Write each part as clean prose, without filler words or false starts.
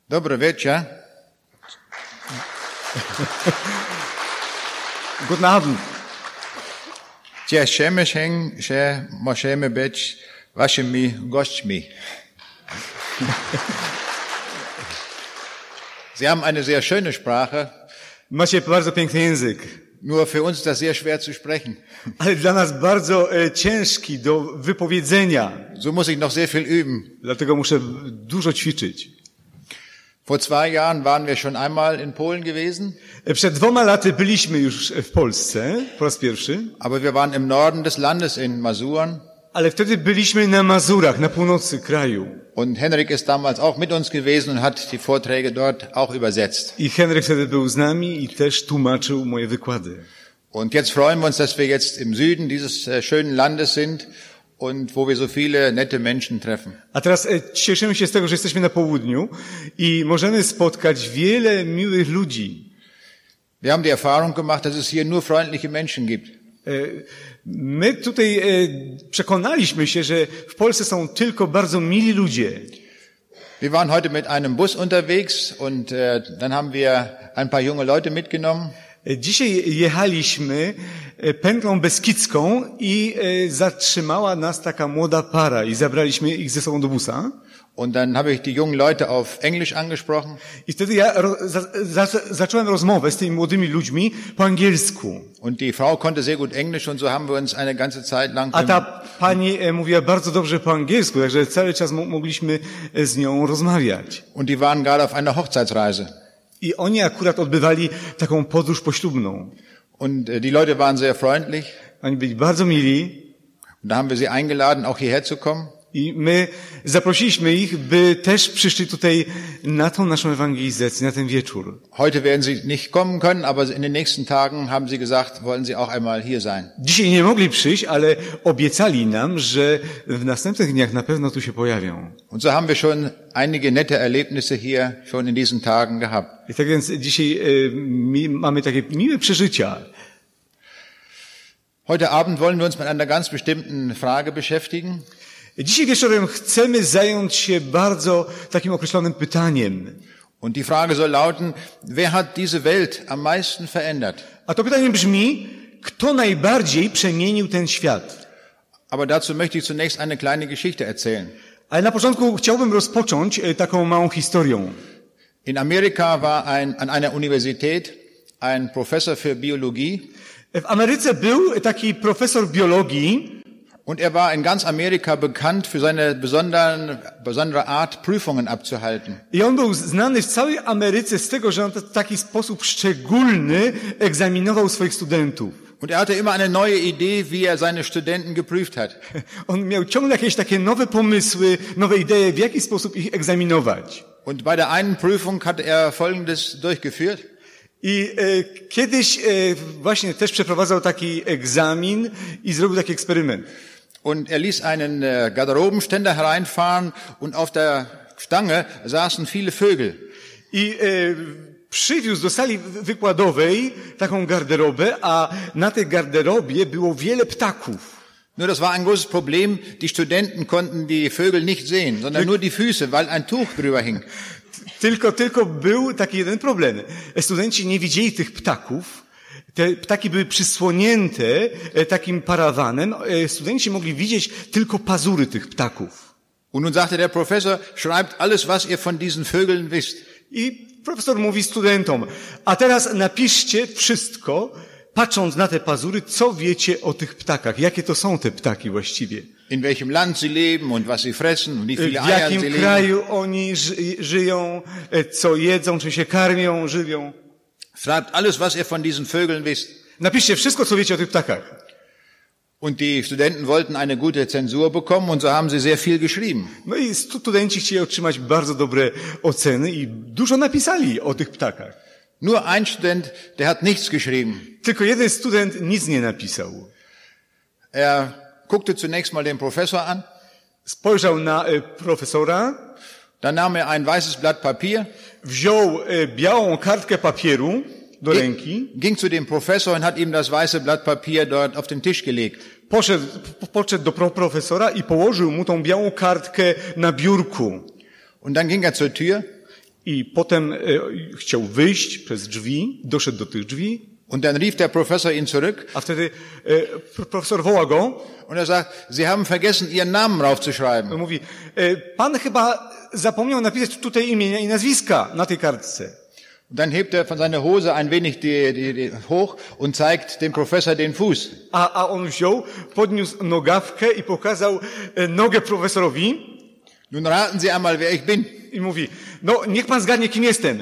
Dobry wieczór. Guten Abend. Cieszymy się, że możemy być waszymi gośćmi. Sie haben eine sehr schöne Sprache, Macie bardzo piękny język, nur für uns ist das sehr schwer zu sprechen. ale dla nas bardzo ciężki do wypowiedzenia. So muss ich noch sehr viel üben. Dlatego muszę dużo ćwiczyć. Vor 2 Jahren waren wir schon einmal in Polen gewesen, Przed 2 laty byliśmy już w Polsce po raz pierwszy, aber wir waren im Norden des Landes in Masuren. ale wtedy byliśmy na Mazurach, na północy kraju. Und Henrik ist damals auch mit uns gewesen und hat die Vorträge dort auch übersetzt. I Henryk wtedy był z nami i też tłumaczył moje wykłady. Und jetzt freuen wir uns, dass wir jetzt im Süden dieses schönen Landes sind und wo wir so viele nette Menschen treffen. A teraz cieszymy się z tego, że jesteśmy na południu i możemy spotkać wiele miłych ludzi. Wir haben die Erfahrung gemacht, dass es hier nur freundliche Menschen gibt. My tutaj przekonaliśmy się, że w Polsce są tylko bardzo mili ludzie. Wir waren heute mit einem Bus unterwegs und dann haben wir ein paar junge Leute mitgenommen. Dzisiaj jechaliśmy pętlą beskidzką i zatrzymała nas taka młoda para i zabraliśmy ich ze sobą do busa. Und dann habe ich die jungen Leute auf Englisch angesprochen. I wtedy ja zacząłem rozmowę z tymi młodymi ludźmi po angielsku. Und die Frau konnte sehr gut Englisch und so haben wir uns eine ganze Zeit lang... A ta pani mówiła bardzo dobrze po angielsku, także cały czas mogliśmy z nią rozmawiać. Und die waren gerade auf einer Hochzeitsreise. I oni akurat odbywali taką podróż poślubną. Und die Leute waren sehr freundlich. Oni byli bardzo mili. Und da haben wir sie eingeladen, auch hierher zu kommen. I my zaprosiliśmy ich, by też przyszli tutaj na tą naszą ewangelizację, na ten wieczór. Heute werden sie nicht kommen können, aber in den nächsten Tagen haben sie gesagt, wollen sie auch einmal hier sein. Dzisiaj nie mogli przyjść, ale obiecali nam, że w następnych dniach na pewno tu się pojawią. Und so haben wir schon einige nette Erlebnisse hier schon in diesen Tagen gehabt. I tak więc dzisiaj mamy takie miłe przeżycia. Heute Abend wollen wir uns mit einer ganz bestimmten Frage beschäftigen. Dzisiaj wieczorem chcemy zająć się bardzo takim określonym pytaniem. Und die Frage soll lauten, wer hat diese Welt am meisten verändert? A to pytanie brzmi, kto najbardziej przemienił ten świat? Aber dazu möchte ich zunächst eine kleine Geschichte erzählen. Ale na początku chciałbym rozpocząć taką małą historią. In Amerika war an einer Universität ein Professor für Biologie. W Ameryce był taki profesor biologii. Und er war in ganz Amerika bekannt für seine besondere Art, Prüfungen abzuhalten. I on był znany w całej Ameryce z tego, że on w taki sposób szczególny egzaminował swoich studentów. Und er hatte immer eine neue Idee, wie er seine Studenten geprüft hat. On miał ciągle jakieś takie nowe pomysły, nowe idee, w jaki sposób ich egzaminować. Und bei der einen Prüfung hatte er Folgendes durchgeführt. I kiedyś właśnie też przeprowadzał taki egzamin i zrobił taki eksperyment. Und er ließ einen Garderobenständer hereinfahren und auf der Stange saßen viele Vögel. I przywiózł do sali wykładowej taką garderobę, a na tej garderobie było wiele ptaków. Nur das war ein großes Problem, die Studenten konnten die Vögel nicht sehen, sondern nur die Füße, weil ein Tuch drüber hing. Tylko był taki jeden problem. Studenci nie widzieli tych ptaków. Te ptaki były przysłonięte takim parawanem. Studenci mogli widzieć tylko pazury tych ptaków. Und nun sagte der Professor, schreibt alles, was ihr von diesen Vögeln wisst. I profesor mówi studentom, a teraz napiszcie wszystko, patrząc na te pazury, co wiecie o tych ptakach. Jakie to są te ptaki właściwie? In welchem Land sie leben und was sie fressen und wie viele W Eier sie jakim legen. kraju oni żyją, co jedzą, czy się karmią, żywią. Schreibt alles, was ihr von diesen Vögeln wisst. Napiszcie wszystko, co wiecie o tych ptakach. Und die Studenten wollten eine gute Zensur bekommen und so haben sie sehr viel geschrieben. No i studenci chcieli otrzymać bardzo dobre oceny i dużo napisali o tych ptakach. Nur ein Student, der hat nichts geschrieben. Tylko jeden student nic nie napisał. Er guckte zunächst mal den Professor an. Spojrzał na profesora. Dann nahm er ein weißes Blatt Papier. Wziął białą kartkę papieru do ręki. Ging zu dem Professor und hat ihm das weiße Blatt Papier dort auf den Tisch gelegt. Podszedł do profesora i położył mu tą białą kartkę na biurku. Und dann ging er zur Tür. I potem chciał wyjść przez drzwi, doszedł do tych drzwi. Und dann rief der Professor ihn zurück. A wtedy profesor woła go. Und er sagt, Sie haben vergessen, Ihren Namen raufzuschreiben. Mówi, pan chyba zapomniał napisać tutaj imienia i nazwiska na tej kartce. Und dann hebt er von seiner Hose ein wenig die hoch und zeigt dem Professor den Fuß. A on wziął, podniósł nogawkę i pokazał nogę profesorowi. Nun raten Sie einmal, wer ich bin. I mówi, no niech pan zgadnie, kim jestem.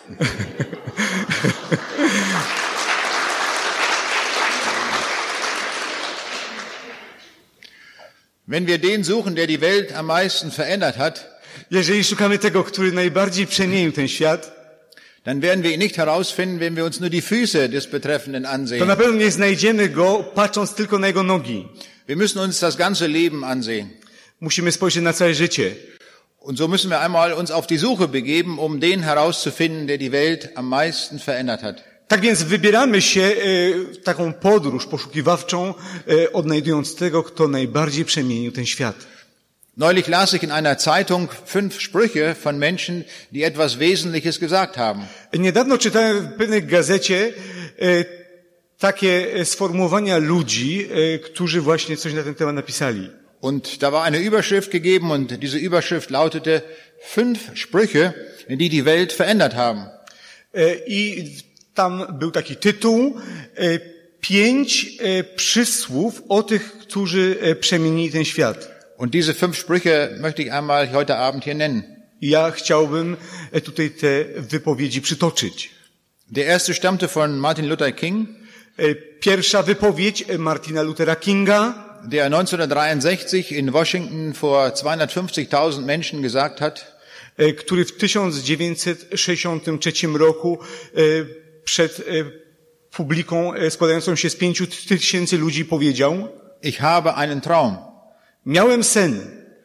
Wenn wir den suchen, der die Welt am meisten verändert hat, Jeżeli szukamy tego, który najbardziej przemienił ten świat, dann werden wir ihn nicht herausfinden, wenn wir uns nur die Füße des Betreffenden to ansehen. na pewno nie znajdziemy go, patrząc tylko na jego nogi. Wir müssen uns das ganze Leben ansehen. Musimy spojrzeć na całe życie. Und so müssen wir einmal uns auf die Suche begeben, um den herauszufinden, der die Welt am meisten verändert hat. Tak więc wybieramy się w taką podróż poszukiwawczą, odnajdując tego, kto najbardziej przemienił ten świat. Neulich las ich in einer Zeitung 5 Sprüche von Menschen, die etwas Wesentliches gesagt haben. Niedawno czytałem w pewnej gazecie takie sformułowania ludzi, którzy właśnie coś na ten temat napisali. Und da war eine Überschrift gegeben und diese Überschrift lautete 5 Sprüche, die die Welt verändert haben. I tam był taki tytuł, 5 przysłów o tych, którzy przemienili ten świat. Und diese 5 Sprüche möchte ich einmal heute Abend hier nennen. Ja chciałbym tutaj te wypowiedzi przytoczyć. Der erste stammte von Martin Luther King, Pierwsza wypowiedź Martina Luthera Kinga, der 1963 in Washington vor 250.000 Menschen gesagt hat, który w 1963 roku przed publiką składającą się z 5,000 ludzi powiedział: ich habe einen Traum. Miałem sen.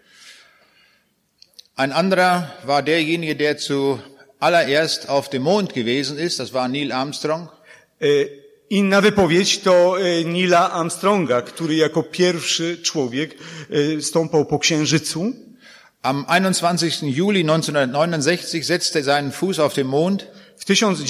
Ein anderer war derjenige, der zuallererst auf dem Mond gewesen ist, das war Neil Armstrong. Inna wypowiedź to Neila Armstronga, który jako pierwszy człowiek stąpał po Księżycu. Am 21. Juli 1969 setzte er seinen Fuß auf den Mond. W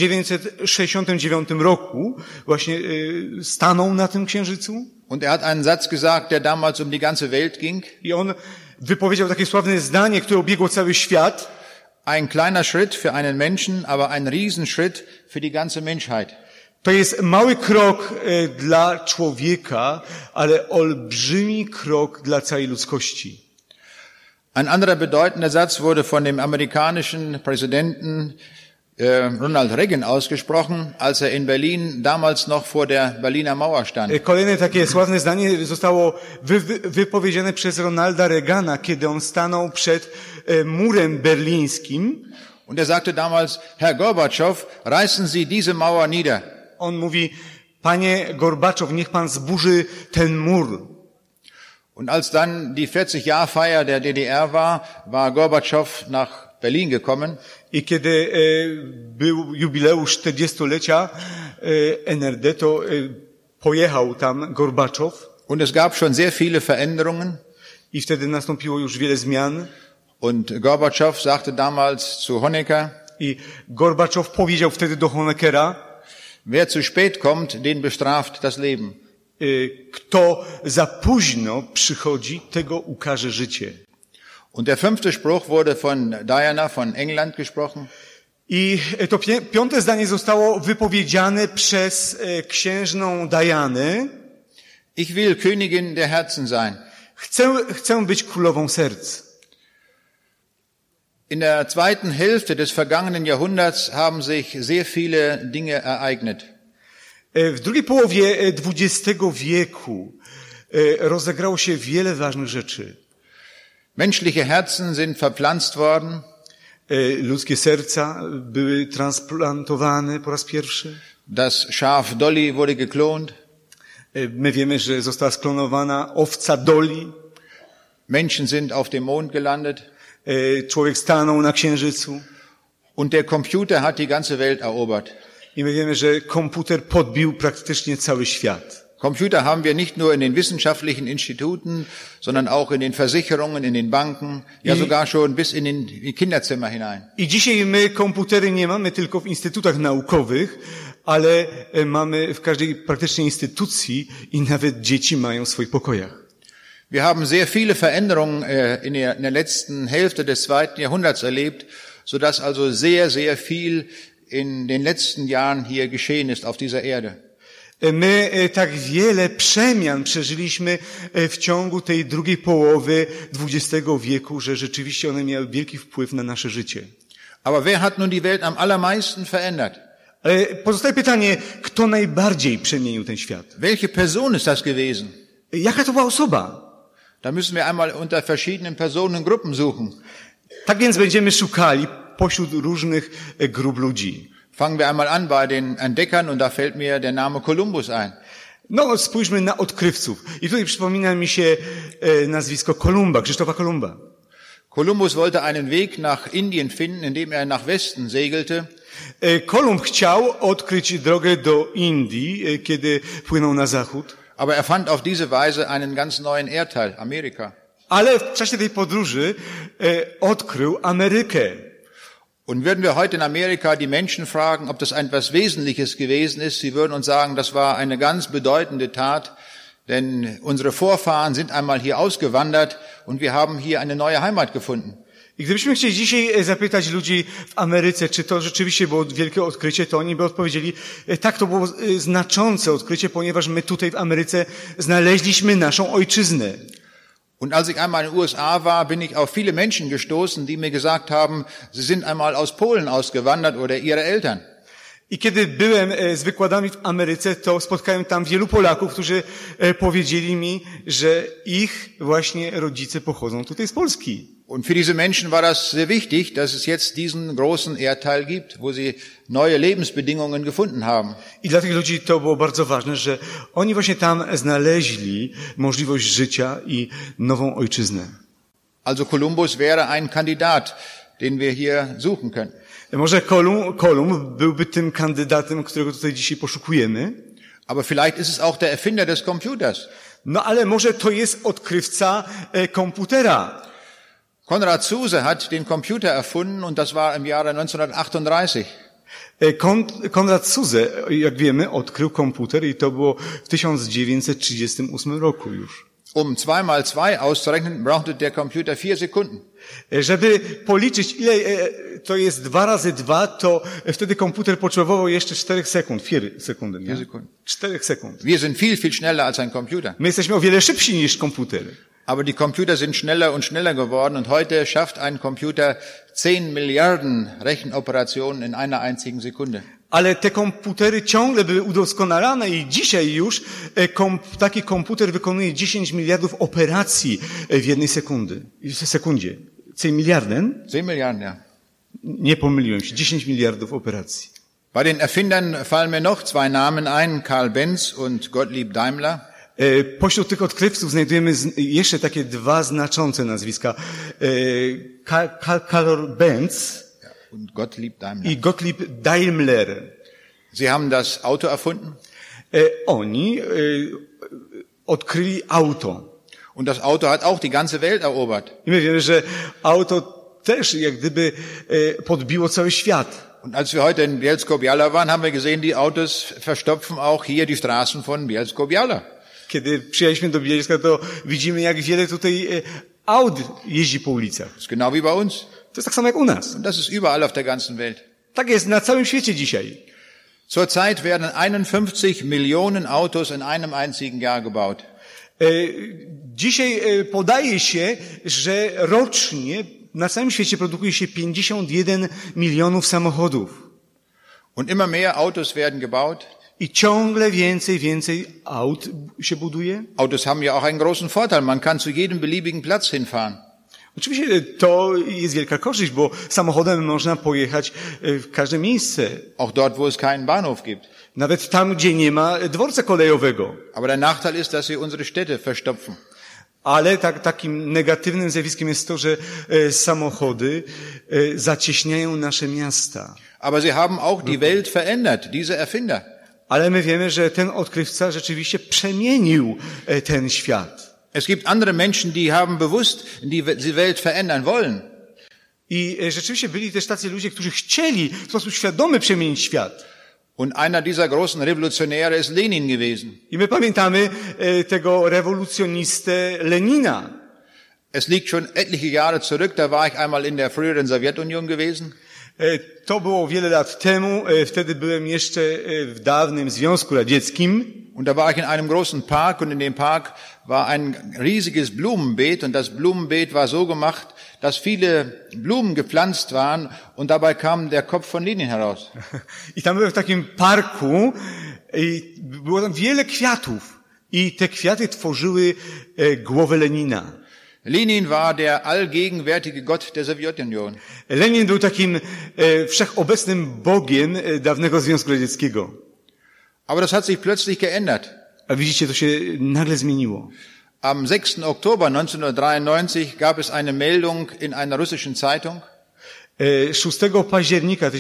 1969 roku właśnie stanął na tym Księżycu. Und er hat einen Satz gesagt, der damals um die ganze Welt ging. I on wypowiedział takie sławne zdanie, które obiegło cały świat. Ein kleiner Schritt für einen Menschen, aber ein Riesenschritt für die ganze Menschheit. To jest mały krok dla człowieka, ale olbrzymi krok dla całej ludzkości. Ein anderer bedeutender Satz wurde von dem amerikanischen Präsidenten Ronald Reagan ausgesprochen, als er in Berlin damals noch vor der Berliner Mauer stand. Kolejne takie sławne zdanie zostało wypowiedziane przez Ronalda Reagana, kiedy on stanął przed murem berlińskim. Und er sagte damals, Herr Gorbatschow, reißen Sie diese Mauer nieder. On mówi: panie Gorbaczow, niech pan zburzy ten mur. Und als dann die 40-Jahr-Feier der DDR war Gorbatschow nach Berlin gekommen. I kiedy był jubileusz 40-lecia NRD, to pojechał tam Gorbaczow. Und es gab schon sehr viele Veränderungen. I wtedy nastąpiło już wiele zmian. Und Gorbatschow sagte damals zu Honecker. I Gorbaczow powiedział wtedy do Honeckera: wer zu spät kommt, den bestraft das Leben. Kto za późno przychodzi, tego ukarze życie. Und der 5. Spruch wurde von Diana von England gesprochen. I to 5. zdanie zostało wypowiedziane przez księżną Dianę. Ich will Königin der Herzen sein. Chcę być królową serc. In der zweiten Hälfte des vergangenen Jahrhunderts haben sich sehr viele Dinge ereignet. W drugiej połowie XX wieku rozegrało się wiele ważnych rzeczy. Menschliche Herzen sind verpflanzt worden. Ludzkie serca były transplantowane po raz pierwszy. Das Schaf Dolly wurde geklont. My wiemy, że została sklonowana owca Dolly. Menschen sind auf dem Mond gelandet. Człowiek stanął na Księżycu. Und der Computer hat die ganze Welt erobert. I my wiemy, że komputer podbił praktycznie cały świat. Computer haben wir nicht nur in den wissenschaftlichen Instituten, sondern auch in den Versicherungen, in den Banken, ja sogar schon bis in die Kinderzimmer hinein. I dzisiaj my komputery nie mamy tylko w instytutach naukowych, ale mamy w każdej praktycznie instytucji i nawet dzieci mają w swoich pokojach. Wir haben sehr viele Veränderungen in der letzten Hälfte des 2. Jahrhunderts erlebt, sodass also sehr, sehr viel in den letzten Jahren hier geschehen ist auf dieser Erde. My tak wiele przemian przeżyliśmy w ciągu tej drugiej połowy XX wieku, że rzeczywiście one miały wielki wpływ na nasze życie. Aber wer hat nun die Welt am allermeisten verändert? Ale pozostaje pytanie, kto najbardziej przemienił ten świat? Welche Person ist das gewesen? Jaka to była osoba? Da müssen wir einmal unter verschiedenen Personengruppen suchen. Tak więc będziemy szukali pośród różnych grup ludzi. Fangen wir einmal an bei den Entdeckern und da fällt mir der Name Kolumbus ein. No, spójrzmy na odkrywców. I tutaj przypomina mi się nazwisko Kolumba, Krzysztofa Kolumba. Kolumbus wollte einen Weg nach Indien finden, indem er nach Westen segelte. Kolumb chciał odkryć drogę do Indii, kiedy płynął na zachód. Aber er fand auf diese Weise einen ganz neuen Erdteil, Amerika. Ale w czasie tej podróży odkrył Amerykę. Und würden wir heute in Amerika die Menschen fragen, ob das etwas Wesentliches gewesen ist, sie würden uns sagen, das war eine ganz bedeutende Tat, denn unsere Vorfahren sind einmal hier ausgewandert und wir haben hier eine neue Heimat gefunden. I gdybyśmy chcieli dzisiaj zapytać ludzi w Ameryce, czy to rzeczywiście było wielkie odkrycie, to oni by odpowiedzieli, tak, to było znaczące odkrycie, ponieważ my tutaj w Ameryce znaleźliśmy naszą ojczyznę. Und als ich einmal in den USA war, bin ich auf viele Menschen gestoßen, die mir gesagt haben, sie sind einmal aus Polen ausgewandert oder ihre Eltern. I kiedy byłem z wykładami w Ameryce, to spotkałem tam wielu Polaków, którzy powiedzieli mi, że ich właśnie rodzice pochodzą tutaj z Polski. Und für diese Menschen war das sehr wichtig, dass es jetzt diesen großen Erdteil gibt, wo sie neue Lebensbedingungen gefunden haben. I dla tych ludzi to było bardzo ważne, że oni właśnie tam znaleźli możliwość życia i nową ojczyznę. Also Kolumbus wäre ein Kandidat, den wir hier suchen können. Może Kolumb byłby tym kandydatem, którego tutaj dzisiaj poszukujemy. Aber vielleicht ist es auch der Erfinder des Computers. No ale może to jest odkrywca komputera. Konrad Zuse hat den Computer erfunden und das war im Jahre 1938. Konrad Zuse, jak wiemy, odkrył komputer i to było w 1938 roku już. Um 2 mal 2 auszurechnen, brauchte der Computer 4 Sekunden. Żeby policzyć, ile to jest 2 razy 2, to wtedy komputer potrzebował jeszcze 4 sekund. 4 sekundy, nie? 4 sekund. Wir sind viel, viel schneller als ein Computer. My jesteśmy o wiele szybsi niż komputer. Aber die Computer sind schneller und schneller geworden und heute schafft ein Computer 10 Milliarden Rechenoperationen in einer einzigen Sekunde. Ale te komputery ciągle były udoskonalane i dzisiaj już taki komputer wykonuje 10 miliardów operacji w jednej sekundzie. 10 Milliarden? 10 Milliarden, ja. Nie pomyliłem się, 10 miliardów operacji. Bei den Erfindern fallen mir noch 2 Namen ein, Karl Benz und Gottlieb Daimler. Pośród tych odkrywców znajdujemy jeszcze takie 2 znaczące nazwiska. Karl Benz und Gottlieb Daimler. I Gottlieb Daimler. Sie haben das Auto erfunden. Oni odkryli auto. Und das Auto hat auch die ganze Welt erobert. I my wiemy, że auto też jak gdyby podbiło cały świat. Und als wir heute in Bielsko-Biała waren, haben wir gesehen, die Autos verstopfen auch hier die Straßen von Bielsko-Biała. Kiedy przyjechaliśmy do Bielska, to widzimy, jak wiele tutaj aut jeździ po ulicach. Das ist genau wie bei uns. To jest tak samo jak u nas. Und das ist überall auf der ganzen Welt. Tak jest na całym świecie dzisiaj. Zurzeit werden 51 Millionen Autos in einem einzigen Jahr gebaut. Dzisiaj podaje się, że rocznie na całym świecie produkuje się 51 milionów samochodów. Und immer mehr Autos werden gebaut. I ciągle więcej aut się buduje. Autos haben ja auch einen großen Vorteil. Man kann zu jedem beliebigen Platz hinfahren. Oczywiście to jest wielka korzyść, bo samochodem można pojechać w każde miejsce. Auch dort, wo es keinen Bahnhof gibt. Nawet tam, gdzie nie ma dworca kolejowego. Aber der Nachteil ist, dass sie unsere Städte verstopfen. Ale takim negatywnym zjawiskiem jest to, że samochody zacieśniają nasze miasta. Aber sie haben auch die Welt verändert, diese Erfinder. Ale my wiemy, że ten odkrywca rzeczywiście przemienił ten świat. Es gibt andere Menschen, die haben bewusst die Welt verändern wollen. I rzeczywiście byli też tacy ludzie, którzy chcieli w sposób świadomy przemienić świat. Und einer dieser großen Revolutionäre ist Lenin gewesen. I my pamiętamy tego rewolucjonistę Lenina. Es liegt schon etliche Jahre zurück, da war ich einmal in der früheren Sowjetunion gewesen. To było wiele lat temu, wtedy byłem jeszcze w dawnym Związku Radzieckim. Und da war ich in einem großen Park und in dem Park war ein riesiges Blumenbeet und das Blumenbeet war so gemacht, dass viele Blumen gepflanzt waren und dabei kam der Kopf von Lenin heraus. I tam byłem w takim parku i było tam wiele kwiatów i te kwiaty tworzyły głowę Lenina. Lenin war der allgegenwärtige Gott der Sowjetunion. Lenin był takim wszechobecnym Bogiem dawnego Związku Radzieckiego. Aber das hat sich plötzlich geändert. A widzicie, to się nagle zmieniło. Am 6. Oktober 1993 gab es eine Meldung in einer russischen Zeitung. 6 października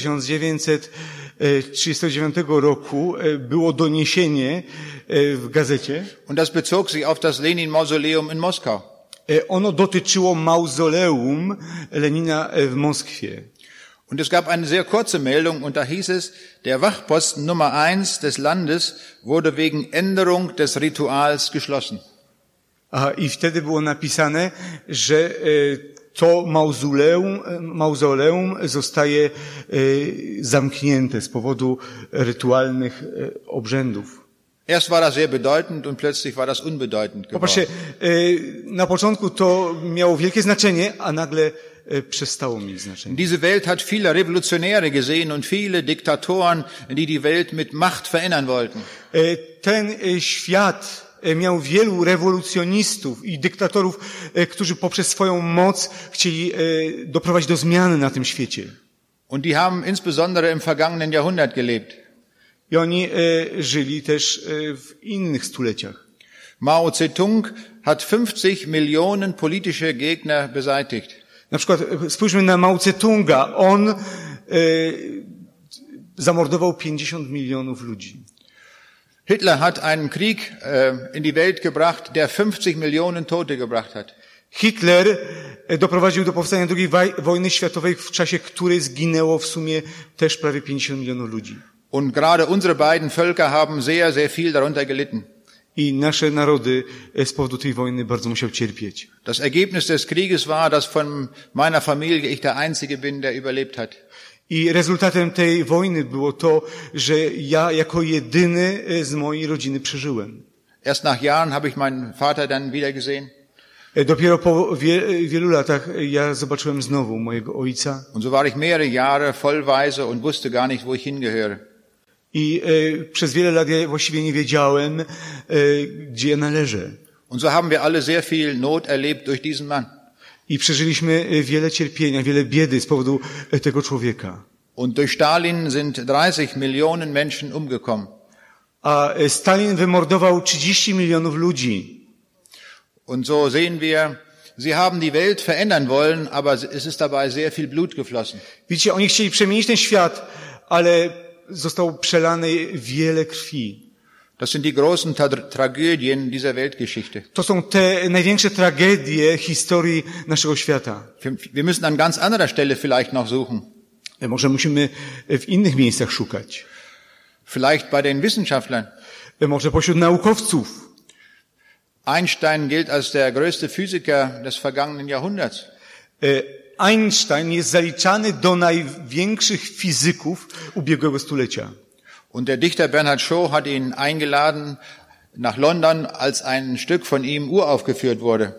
1939 roku było doniesienie w gazecie. Und das bezog sich auf das Lenin-Mausoleum in Moskau. Ono dotyczyło mauzoleum Lenina w Moskwie. Und es gab eine sehr kurze Meldung und da hieß es, der Wachposten Nummer 1 des Landes wurde wegen Änderung des Rituals geschlossen. I wtedy było napisane, że to mauzoleum zostaje zamknięte z powodu rytualnych obrzędów. Erst war das sehr bedeutend und plötzlich war das unbedeutend geworden. Popatrzcie, na początku to miało wielkie znaczenie, a nagle przestało mieć znaczenie. Diese Welt hat viele Revolutionäre gesehen und viele Diktatoren, die die Welt mit Macht verändern wollten. Ten świat miał wielu rewolucjonistów i dyktatorów, którzy poprzez swoją moc chcieli doprowadzić do zmiany na tym świecie. Und die haben insbesondere im vergangenen Jahrhundert gelebt. I oni żyli też w innych stuleciach. Mao Zedong hat 50 Millionen politische Gegner beseitigt. Na przykład spójrzmy na Mao Zedonga. On zamordował 50 milionów ludzi. Hitler hat einen Krieg in die Welt gebracht, der 50 Millionen Tote gebracht hat. Hitler doprowadził do powstania II wojny światowej, w czasie której zginęło w sumie też prawie 50 milionów ludzi. Und gerade unsere beiden Völker haben sehr, sehr viel darunter gelitten. I nasze narody z powodu tej wojny bardzo musiały cierpieć. Das Ergebnis des Krieges war, dass von meiner Familie ich der Einzige bin, der überlebt hat. I rezultatem tej wojny było to, że ja jako jedyny z mojej rodziny przeżyłem. Erst nach Jahren habe ich meinen Vater dann wieder gesehen. Dopiero po wielu latach ja zobaczyłem znowu mojego ojca. Und so war ich mehrere Jahre voll Waise und wusste gar nicht, wo ich hingehöre. I przez wiele lat ja właściwie nie wiedziałem, gdzie ja należę. Und so haben wir alle sehr viel Not erlebt durch diesen Mann. I przeżyliśmy wiele cierpienia, wiele biedy z powodu tego człowieka. Und durch Stalin sind 30 Millionen Menschen umgekommen. A Stalin wymordował 30 milionów ludzi. Und so sehen wir, sie haben die Welt verändern wollen, aber es ist dabei sehr viel Blut geflossen. Widzicie, oni chcieli przemienić ten świat, ale zostało przelane wiele krwi. Das sind die großen Tragödien dieser Weltgeschichte. To są te największe tragedie historii naszego świata. Wir müssen an ganz anderer Stelle vielleicht noch suchen. Może musimy w innych miejscach szukać. Vielleicht bei den Wissenschaftlern. Może pośród naukowców. Einstein gilt als der größte Physiker des vergangenen Jahrhunderts. Einstein jest zaliczany do największych fizyków ubiegłego stulecia. Und der Dichter Bernhard Shaw hat ihn eingeladen nach London, als ein Stück von ihm uraufgeführt wurde.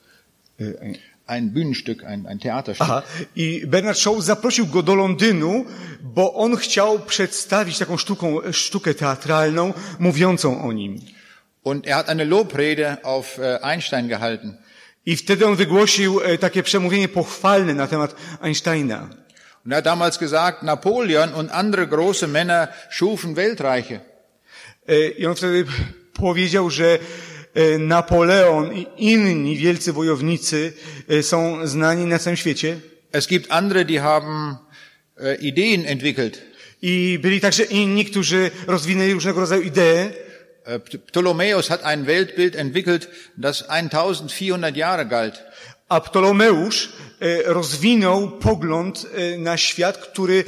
Ein Bühnenstück, ein Theaterstück. Aha. I Bernard Shaw zaprosił go do Londynu, bo on chciał przedstawić taką sztukę teatralną mówiącą o nim. Und er hat eine Lobrede auf Einstein gehalten. I wtedy on wygłosił takie przemówienie pochwalne na temat Einsteina. Und er hat damals gesagt, Napoleon und andere große Männer schufen Weltreiche. I on wtedy powiedział, że Napoleon i inni wielcy wojownicy są znani na całym świecie. Es gibt andere, die haben Ideen entwickelt. I byli także inni, którzy rozwinęli różnego rodzaju idee. Ptolemäus hat ein Weltbild entwickelt, das 1400 Jahre galt. A Ptolomeusz rozwinął pogląd na świat, który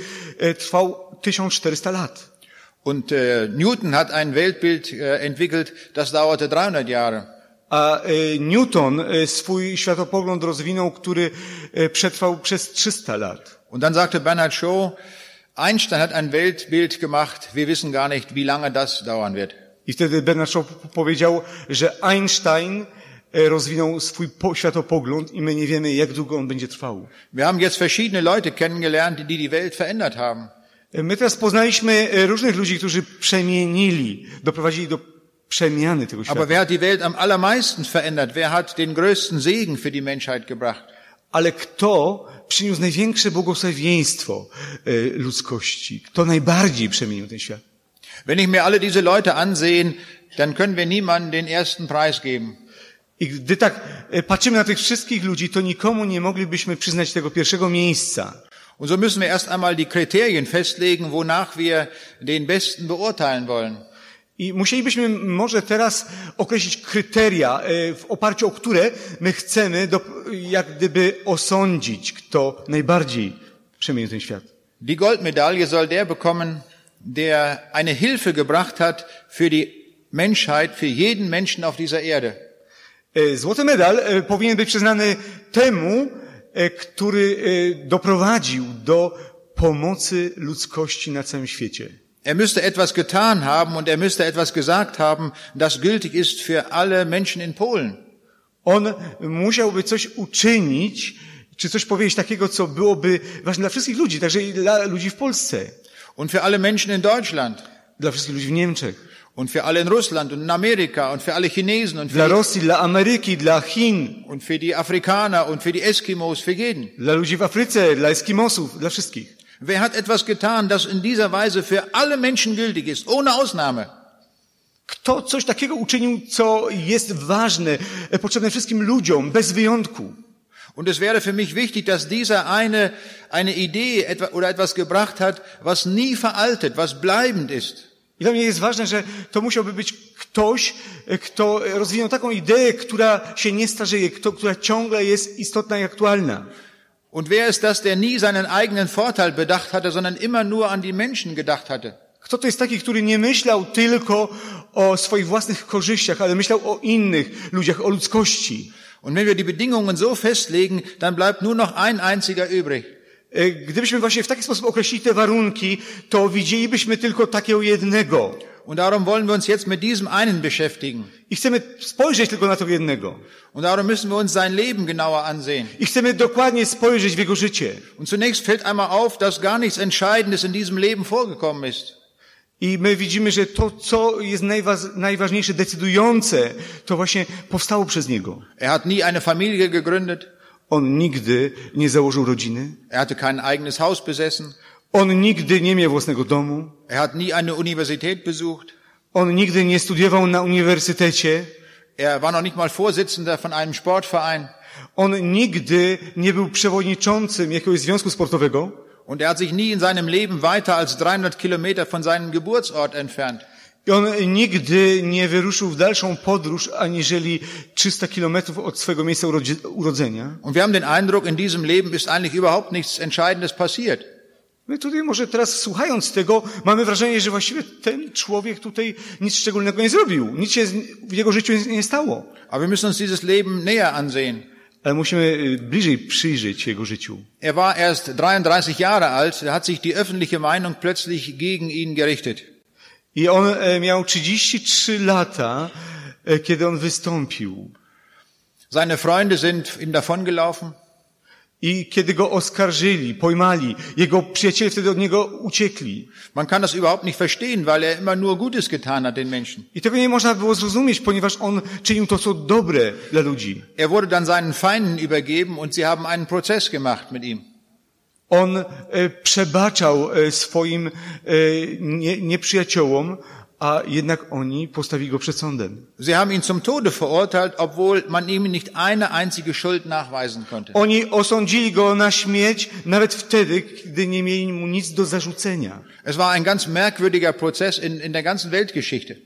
trwał 1400 lat. Und Newton hat ein Weltbild entwickelt, das dauerte 300 Jahre. A Newton swój światopogląd rozwinął, który przetrwał przez 300 lat. Und dann sagte Bernhard Shaw, Einstein hat ein Weltbild gemacht, wir wissen gar nicht, wie lange das dauern wird. I wtedy Bernhard Shaw powiedział, że Einstein rozwinął swój światopogląd i my nie wiemy, jak długo on będzie trwał. Wir haben jetzt verschiedene Leute kennengelernt, die die Welt verändert haben. My teraz poznaliśmy różnych ludzi, którzy przemienili, doprowadzili do przemiany tego świata. Aber wer hat die Welt am allermeisten verändert? Wer hat den größten Segen für die Menschheit gebracht? Ale kto przyniósł największe błogosławieństwo ludzkości? Kto najbardziej przemienił ten świat? Wenn ich mir alle diese Leute ansehen, dann können wir niemandem den ersten Preis geben. I gdy tak patrzymy na tych wszystkich ludzi, to nikomu nie moglibyśmy przyznać tego pierwszego miejsca. Und so müssen wir erst einmal die Kriterien festlegen, wonach wir den Besten beurteilen wollen. I musielibyśmy może teraz określić kryteria, w oparciu o które my chcemy jak gdyby osądzić, kto najbardziej przemienił ten świat. Die Goldmedaille soll der bekommen, der eine Hilfe gebracht hat für die Menschheit, für jeden Menschen auf dieser Erde. Złoty medal powinien być przyznany temu, który doprowadził do pomocy ludzkości na całym świecie. Er müsste etwas getan haben und er müsste etwas gesagt haben, das gültig ist für alle Menschen in Polen. On musiałby coś uczynić, czy coś powiedzieć takiego, co byłoby ważne dla wszystkich ludzi, także i dla ludzi w Polsce. Und für alle Menschen in Deutschland. Dla wszystkich ludzi w Niemczech. Und für alle in Russland und in Amerika und für alle Chinesen und dla Rosji, dla Ameryki, dla Chin. Und für die Afrikaner und für die Eskimos, für jeden. Dla ludzi w Afryce, dla Eskimosów, dla wszystkich. Wer hat etwas getan, das in dieser Weise für alle Menschen gültig ist, ohne Ausnahme? Kto coś takiego uczynił, co jest ważne, potrzebne wszystkim ludziom, bez wyjątku? Und es wäre für mich wichtig, dass dieser eine Idee oder etwas gebracht hat, was nie veraltet, was bleibend ist. I dla mnie jest ważne, że to musiałby być ktoś, kto rozwinął taką ideę, która się nie starzeje, która ciągle jest istotna i aktualna. Und wer ist das, der nie seinen eigenen Vorteil bedacht hatte, sondern immer nur an die Menschen gedacht hatte? Kto to jest taki, który nie myślał tylko o swoich własnych korzyściach, ale myślał o innych ludziach, o ludzkości? Und wenn wir die Bedingungen so festlegen, dann bleibt nur noch ein einziger übrig. Gdybyśmy właśnie w taki sposób określili te warunki, to widzielibyśmy tylko takiego jednego. Und darum wollen wir uns jetzt mit diesem einen beschäftigen. I chcemy spojrzeć tylko na tego jednego. Und darum müssen wir uns sein Leben genauer ansehen. I chcemy dokładnie spojrzeć w jego życie. Und zunächst fällt einmal auf, dass gar nichts Entscheidendes in diesem Leben vorgekommen ist. I my widzimy, że to, co jest najważniejsze, decydujące, to właśnie powstało przez niego. Er hat nie eine Familie gegründet. On nigdy nie założył rodziny. Er hatte kein eigenes Haus besessen. On nigdy nie miał własnego domu. Er hat nie eine Universität besucht. On nigdy nie studiował na uniwersytecie. Er war noch nicht mal Vorsitzender von einem Sportverein. On nigdy nie był przewodniczącym jakiegoś związku sportowego. Und er hat sich nie in seinem Leben weiter als 300 Kilometer von seinem Geburtsort entfernt. I on nigdy nie wyruszył w dalszą podróż, aniżeli 300 kilometrów od swojego miejsca urodzenia. Und wir haben den Eindruck, in diesem Leben ist eigentlich überhaupt nichts Entscheidendes passiert. My tutaj może teraz słuchając tego, mamy wrażenie, że właściwie ten człowiek tutaj nic szczególnego nie zrobił. Nic się w jego życiu nie stało. Aber wir müssen uns dieses Leben näher ansehen. Ale musimy bliżej przyjrzeć jego życiu. Er war erst 33 Jahre alt, da hat sich die öffentliche Meinung plötzlich gegen ihn gerichtet. I on miał 33 lata, kiedy on wystąpił. Seine Freunde sind ihm davongelaufen. I kiedy go oskarżyli, pojmali, jego przyjaciele wtedy od niego uciekli. Man kann das überhaupt nicht verstehen, weil er immer nur Gutes getan hat den Menschen. I tego nie można było zrozumieć, ponieważ on czynił to, co dobre dla ludzi. Er wurde dann seinen Feinden übergeben und sie haben einen Prozess gemacht mit ihm. On przebaczał swoim nieprzyjaciołom, a jednak oni postawili go przed sądem. Sie haben ihn zum Tode verurteilt, obwohl man ihm nicht eine einzige Schuld nachweisen konnte. Oni osądzili go na śmierć nawet wtedy, kiedy nie mieli mu nic do zarzucenia. Es war ein ganz merkwürdiger Prozess in der ganzen Weltgeschichte.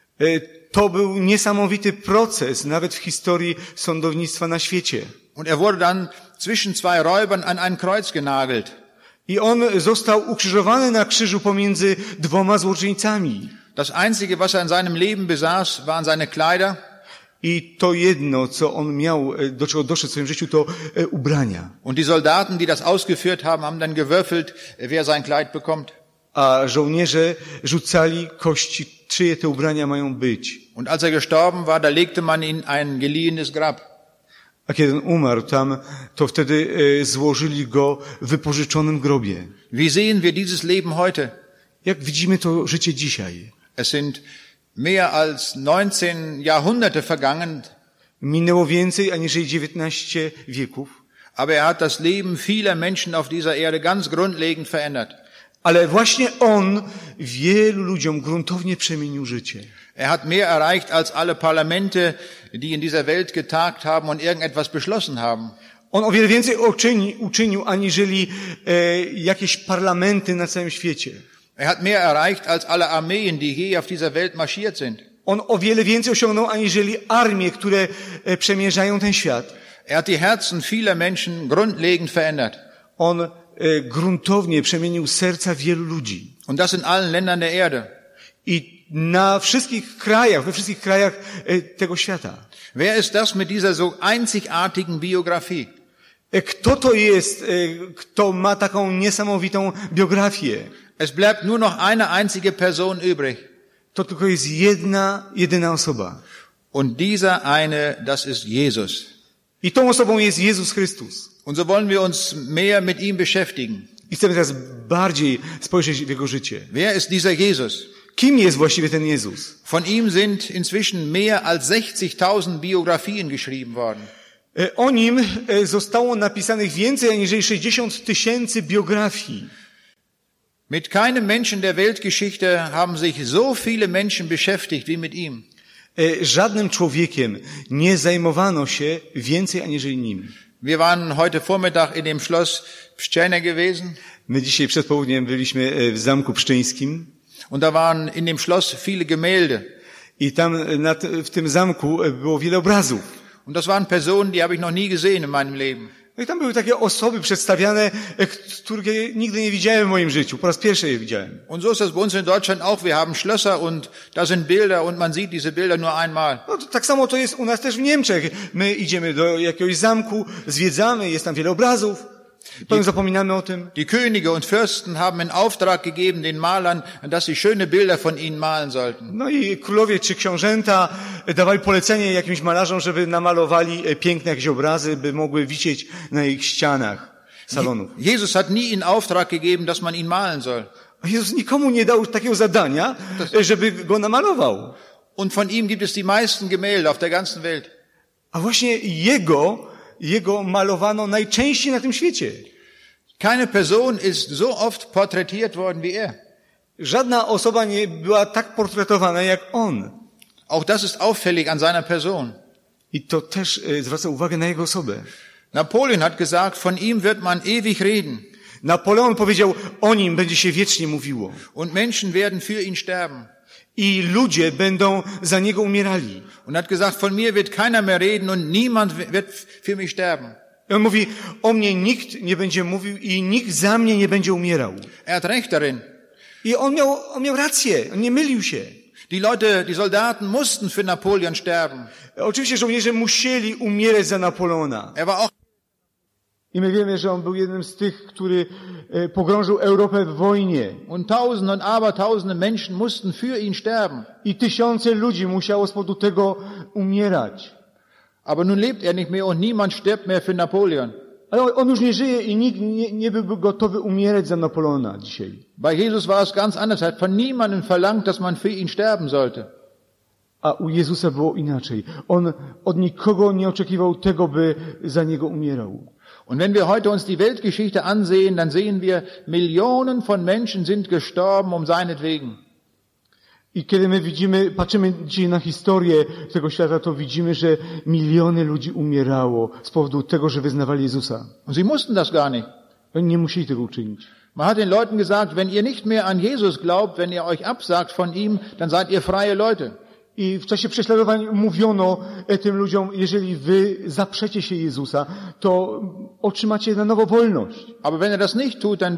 To był niesamowity proces, nawet w historii sądownictwa na świecie. Und er wurde dann zwischen zwei Räubern an ein Kreuz genagelt. I on został ukrzyżowany na krzyżu pomiędzy dwoma złoczyńcami. Das Einzige, was er in seinem Leben besaß, waren seine Kleider. I to jedno, co on miał, do czego doszedł w swoim życiu, to ubrania. Und die Soldaten, die das ausgeführt haben, haben dann gewürfelt, wer sein Kleid bekommt. A żołnierze rzucali kości, czyje te ubrania mają być. Und als er gestorben war, da legte man ihn in ein geliehenes Grab. A kiedy on umarł tam, to wtedy złożyli go w wypożyczonym grobie. Wie sehen wir dieses Leben heute? Jak widzimy to życie dzisiaj? Es sind mehr als 19 Jahrhunderte vergangen, Minęło więcej aniżeli 19 wieków, aber er hat das Leben vieler Menschen auf dieser Erde ganz grundlegend verändert. ale właśnie on wielu ludziom gruntownie przemienił życie. Er hat mehr erreicht als alle Parlamente, die in dieser Welt getagt haben und irgendetwas beschlossen haben. On o wiele więcej uczynił aniżeli jakieś parlamenty na całym świecie. Er hat mehr erreicht als alle Armeen, die je auf dieser Welt marschiert sind. On o wiele więcej osiągnął aniżeli armie, które przemierzają ten świat. Er hat die Herzen vieler Menschen grundlegend verändert. On gruntownie przemienił serca wielu ludzi. Und das in allen Ländern der Erde. I na wszystkich krajach, we wszystkich krajach tego świata. Wer ist das mit dieser so einzigartigen Biografie? Kto to jest, kto ma taką niesamowitą biografię? Es bleibt nur noch eine einzige Person übrig. To tylko jest jedyna osoba. Und dieser eine, das ist Jesus. I tą osobą jest Jezus Chrystus. Und so wollen wir uns mehr mit ihm beschäftigen. I chcemy teraz bardziej spojrzeć w Jego życie. Wer ist dieser Jesus? Kim jest właściwie ten Jezus? Von ihm sind inzwischen mehr als 60.000 Biografien geschrieben worden. O nim zostało napisanych więcej aniżeli 60 000 biografii. Mit keinem Menschen der Weltgeschichte haben sich so viele Menschen beschäftigt wie mit ihm. Żadnym człowiekiem nie zajmowano się więcej aniżeli nim. Wir waren heute Vormittag in dem Schloss Pszczene gewesen. My dzisiaj przed południem byliśmy w Zamku Pszczyńskim. Und da waren in dem Schloss viele Gemälde. I tam w tym zamku było wiele obrazów. Und das waren Personen, die habe ich noch nie gesehen in meinem Leben. No i tam były takie osoby przedstawiane, które nigdy nie widziałem w moim życiu. Po raz pierwszy je widziałem. Und so ist das bei uns in Deutschland auch. Wir haben Schlösser und da sind Bilder und man sieht diese Bilder nur einmal. No to tak samo to jest u nas też w Niemczech. My idziemy do jakiegoś zamku, zwiedzamy, jest tam wiele obrazów. Potem zapominamy o tym. Die Könige und Fürsten haben in Auftrag gegeben den Malern, dass sie schöne Bilder von ihnen malen sollten. No i królowie czy książęta dawali polecenie jakimś malarzom, żeby namalowali piękne jakieś obrazy, by mogły wisieć na ich ścianach salonów. Jesus hat nie in Auftrag gegeben, dass man ihn malen soll. A Jezus nikomu nie dał takiego zadania, żeby go namalował. Und von ihm gibt es die meisten Gemälde auf der ganzen Welt. A właśnie jego malowano najczęściej na tym świecie. Keine Person ist so oft porträtiert worden wie er. Żadna osoba nie była tak portretowana jak on. Auch das ist auffällig an seiner Person. I to też zwraca uwagę na jego osobę. Napoleon hat gesagt, von ihm wird man ewig reden. Napoleon powiedział, o nim będzie się wiecznie mówiło. Und Menschen werden für ihn sterben. I ludzie będą za niego umierali. Und hat gesagt, von mir wird keiner mehr reden und niemand wird für mich sterben. I on mówi, o mnie nikt nie będzie mówił i nikt za mnie nie będzie umierał. Er hat recht darin. I on miał rację, on nie mylił się. Die Soldaten mussten für Napoleon sterben. Oczywiście żołnierze musieli umierać za Napoleona. Er war auch I my wiemy, że on był jednym z tych, który pogrążył Europę w wojnie. Und Tausende und Abertausende Menschen mussten für ihn sterben. I tysiące ludzi musiało z powodu tego umierać. Aber nun lebt er nicht mehr und niemand stirbt mehr für Napoleon. Ale on już nie żyje i nikt nie byłby gotowy umierać za Napoleona dzisiaj. Bei Jesus war es ganz anders. Er hat von niemandem verlangt, dass man für ihn sterben sollte. A u Jezusa było inaczej. On od nikogo nie oczekiwał tego, by za niego umierał. Und wenn wir heute uns die Weltgeschichte ansehen, dann sehen wir, Millionen von Menschen sind gestorben um seinetwegen. I kiedy my patrzymy dzisiaj na historię tego świata, to widzimy, że miliony ludzi umierało z powodu tego, że wyznawali Jezusa. Und sie mussten das gar nicht. Oni nie musieli tego uczynić. Man hat den Leuten gesagt, wenn ihr nicht mehr an Jesus glaubt, wenn ihr euch absagt von ihm, dann seid ihr freie Leute. I w czasie prześladowań mówiono tym ludziom, jeżeli wy zaprzecie się Jezusa, to otrzymacie na nowo wolność. Aber wenn ihr das nicht tut, dann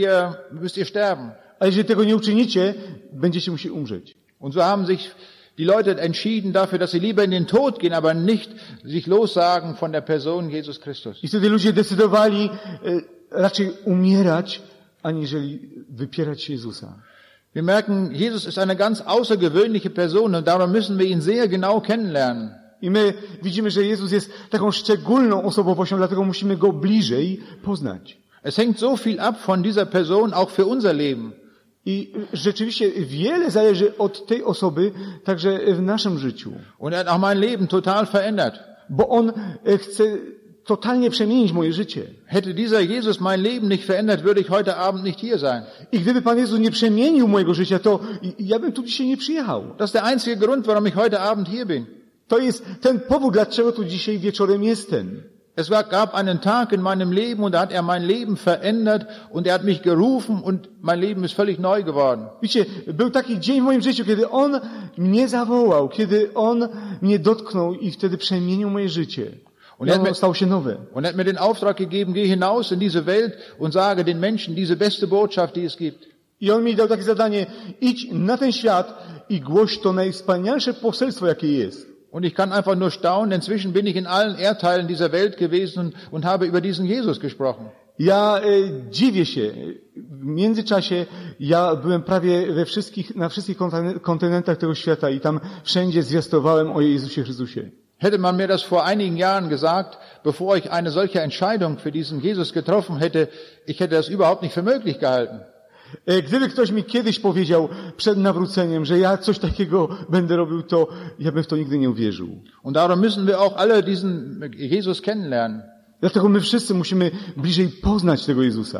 müsst ihr sterben. A jeżeli tego nie uczynicie, będziecie musieli umrzeć. Und so haben sich die Leute entschieden dafür, dass sie lieber in den Tod gehen, aber nicht sich lossagen von der Person Jesus Christus. I wtedy ludzie decydowali raczej umierać, aniżeli wypierać się Jezusa. Wir merken, Jesus ist eine ganz außergewöhnliche Person und darum müssen wir ihn sehr genau kennenlernen. I my widzimy, że Jezus jest taką szczególną osobowością, dlatego musimy Go bliżej poznać. Es hängt so viel ab von dieser Person, auch für unser Leben. I rzeczywiście wiele zależy od tej osoby, także w naszym życiu. Und er hat auch mein Leben total verändert. Bo On chce totalnie przemienić moje życie. Hätte dieser Jesus mein Leben nicht verändert, würde ich heute Abend nicht hier sein. I gdyby Pan Jezus nie przemienił mojego życia, to ja bym tu dzisiaj nie przyjechał. Das ist der einzige Grund, warum ich heute Abend hier bin. To jest ten powód, dlaczego tu dzisiaj wieczorem jestem. Es gab einen Tag in meinem Leben und da hat er mein Leben verändert und er hat mich gerufen und mein Leben ist völlig neu geworden. Wiecie, był taki dzień w moim życiu, kiedy On mnie zawołał, kiedy On mnie dotknął i wtedy przemienił moje życie. Und ono stało się nowe. Und er hat mir den Auftrag gegeben, geh hinaus in diese Welt und sage den Menschen diese beste Botschaft, die es gibt. I On mi dał takie zadanie, idź na ten świat i głoś to najwspanialsze poselstwo, jakie jest. Und ich kann einfach nur staunen, inzwischen bin ich in allen Erdteilen dieser Welt gewesen und habe über diesen Jesus gesprochen. Ja dziwię się. W międzyczasie ja byłem prawie na wszystkich kontynentach tego świata i tam wszędzie zwiastowałem o Jezusie Chrystusie. Hätte man mir das vor einigen Jahren gesagt, bevor ich eine solche Entscheidung für diesen Jesus getroffen hätte, ich hätte das überhaupt nicht für möglich gehalten. Gdyby ktoś mi kiedyś powiedział przed nawróceniem, że ja coś takiego będę robił, to ja bym w to nigdy nie uwierzył. Und darum müssen wir auch alle diesen Jesus kennenlernen. Dlatego my wszyscy musimy bliżej poznać tego Jezusa.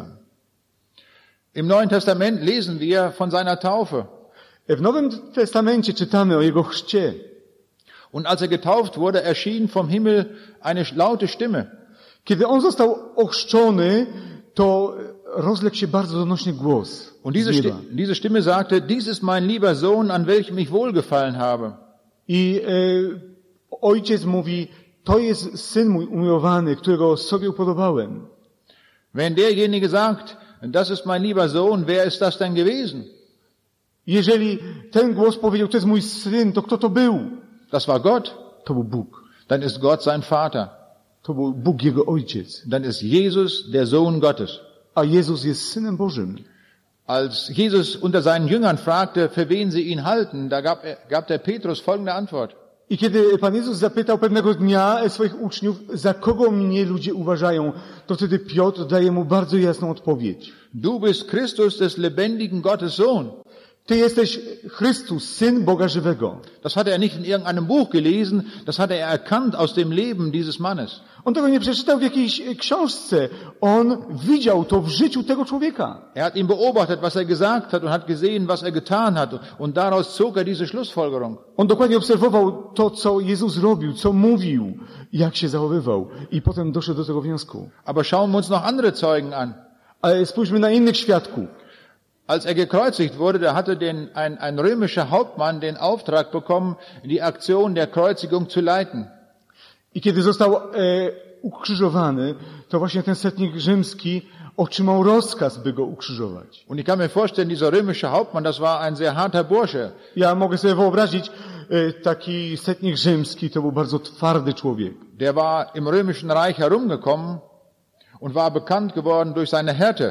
Im Neuen Testament lesen wir von seiner Taufe. W Nowym Testamencie czytamy o Jego chrzcie. Und als er getauft wurde, erschien vom Himmel eine laute Stimme. Kiedy On został ochrzczony, to rozległ się bardzo donośny głos. Und diese Stimme sagte, dies ist mein lieber Sohn, an welchem ich wohlgefallen habe. I ojciec mówi, to jest syn mój umiłowany, którego sobie upodobałem. Wenn derjenige sagt, das ist mein lieber Sohn, wer ist das denn gewesen? Jeżeli ten głos powiedział, to jest mój syn, to kto to był? Das war Gott. To był Bóg. Dann ist Gott sein Vater. To był Bóg, Jego Ojciec. Dann ist Jesus der Sohn Gottes. A Jezus jest Synem Bożym. Als Jesus unter seinen Jüngern fragte, für wen sie ihn halten, da gab der Petrus folgende Antwort. I kiedy Pan Jezus zapytał pewnego dnia swoich uczniów, za kogo mnie ludzie uważają, to wtedy Piotr daje mu bardzo jasną odpowiedź. Du bist Christus des lebendigen Gottes Sohn. Ty jesteś Chrystus, Syn Boga żywego. Das hat er nicht in irgendeinem Buch gelesen, das hat er erkannt aus dem Leben dieses Mannes. On tego nie przeczytał w jakiejś książce. On widział to w życiu tego człowieka. Er hat ihn beobachtet, was er gesagt hat und hat gesehen, was er getan hat. Und daraus zog er diese Schlussfolgerung. On dokładnie obserwował to, co Jezus robił, co mówił, jak się zachowywał. I potem doszedł do tego wniosku. Aber schauen wir uns noch andere Zeugen an. Ale spójrzmy na innych świadków. Als er gekreuzigt wurde, da hatte ein römischer Hauptmann den Auftrag bekommen, die Aktion der Kreuzigung zu leiten. I kiedy został ukrzyżowany, to właśnie ten setnik rzymski otrzymał rozkaz, by go ukrzyżować. Und ich kann mir vorstellen, dieser römische Hauptmann, das war ein sehr harter Bursche. Ja mogę sobie wyobrazić, taki setnik rzymski to był bardzo twardy człowiek. Der war im römischen Reich herumgekommen und war bekannt geworden durch seine Härte.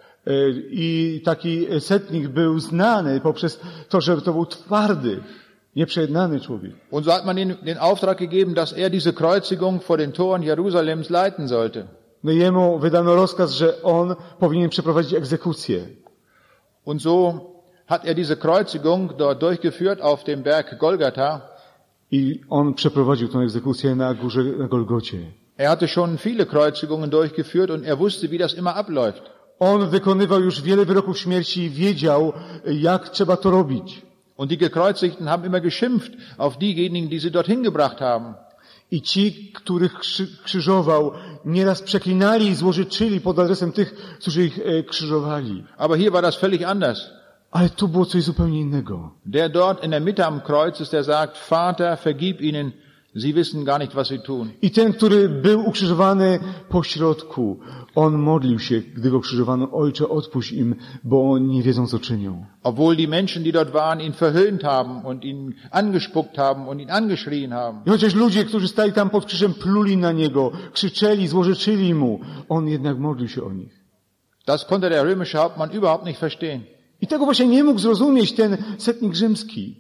I taki setnik był znany poprzez to, że to był twardy, nieprzejednany człowiek. Und so hat man ihm den Auftrag gegeben, dass er diese Kreuzigung vor den Toren Jerusalems leiten sollte. No i jemu wydano rozkaz, że on powinien przeprowadzić egzekucję. Und so hat er diese Kreuzigung dort durchgeführt auf dem Berg Golgatha. I on przeprowadził tę egzekucję na górze, na Golgocie. Er hatte schon viele Kreuzigungen durchgeführt und er wusste, wie das immer abläuft. On wykonywał już wiele wyroków śmierci i wiedział, jak trzeba to robić. Und die Gekreuzigten haben immer geschimpft auf diejenigen, die sie dorthin gebracht haben. I ci, których krzyżował, nieraz przeklinali i złorzeczyli pod adresem tych, którzy ich krzyżowali. Aber hier war das völlig anders. Ale tu było coś zupełnie innego. Der dort in der Mitte am Kreuz ist, der sagt, Vater, vergib ihnen, sie wissen gar nicht, was sie tun. I ten, który był ukrzyżowany po środku, on modlił się, gdy go krzyżowano, Ojcze, odpuść im, bo oni nie wiedzą, co czynią. Obwohl die Menschen, die dort waren, ihn verhöhnt haben und ihn angespuckt haben und ihn angeschrien haben. I chociaż ludzie, którzy stali tam pod krzyżem, pluli na niego, krzyczeli, złorzeczyli mu, on jednak modlił się o nich. Das konnte der römische Hauptmann überhaupt nicht verstehen. I tego właśnie nie mógł zrozumieć ten setnik rzymski.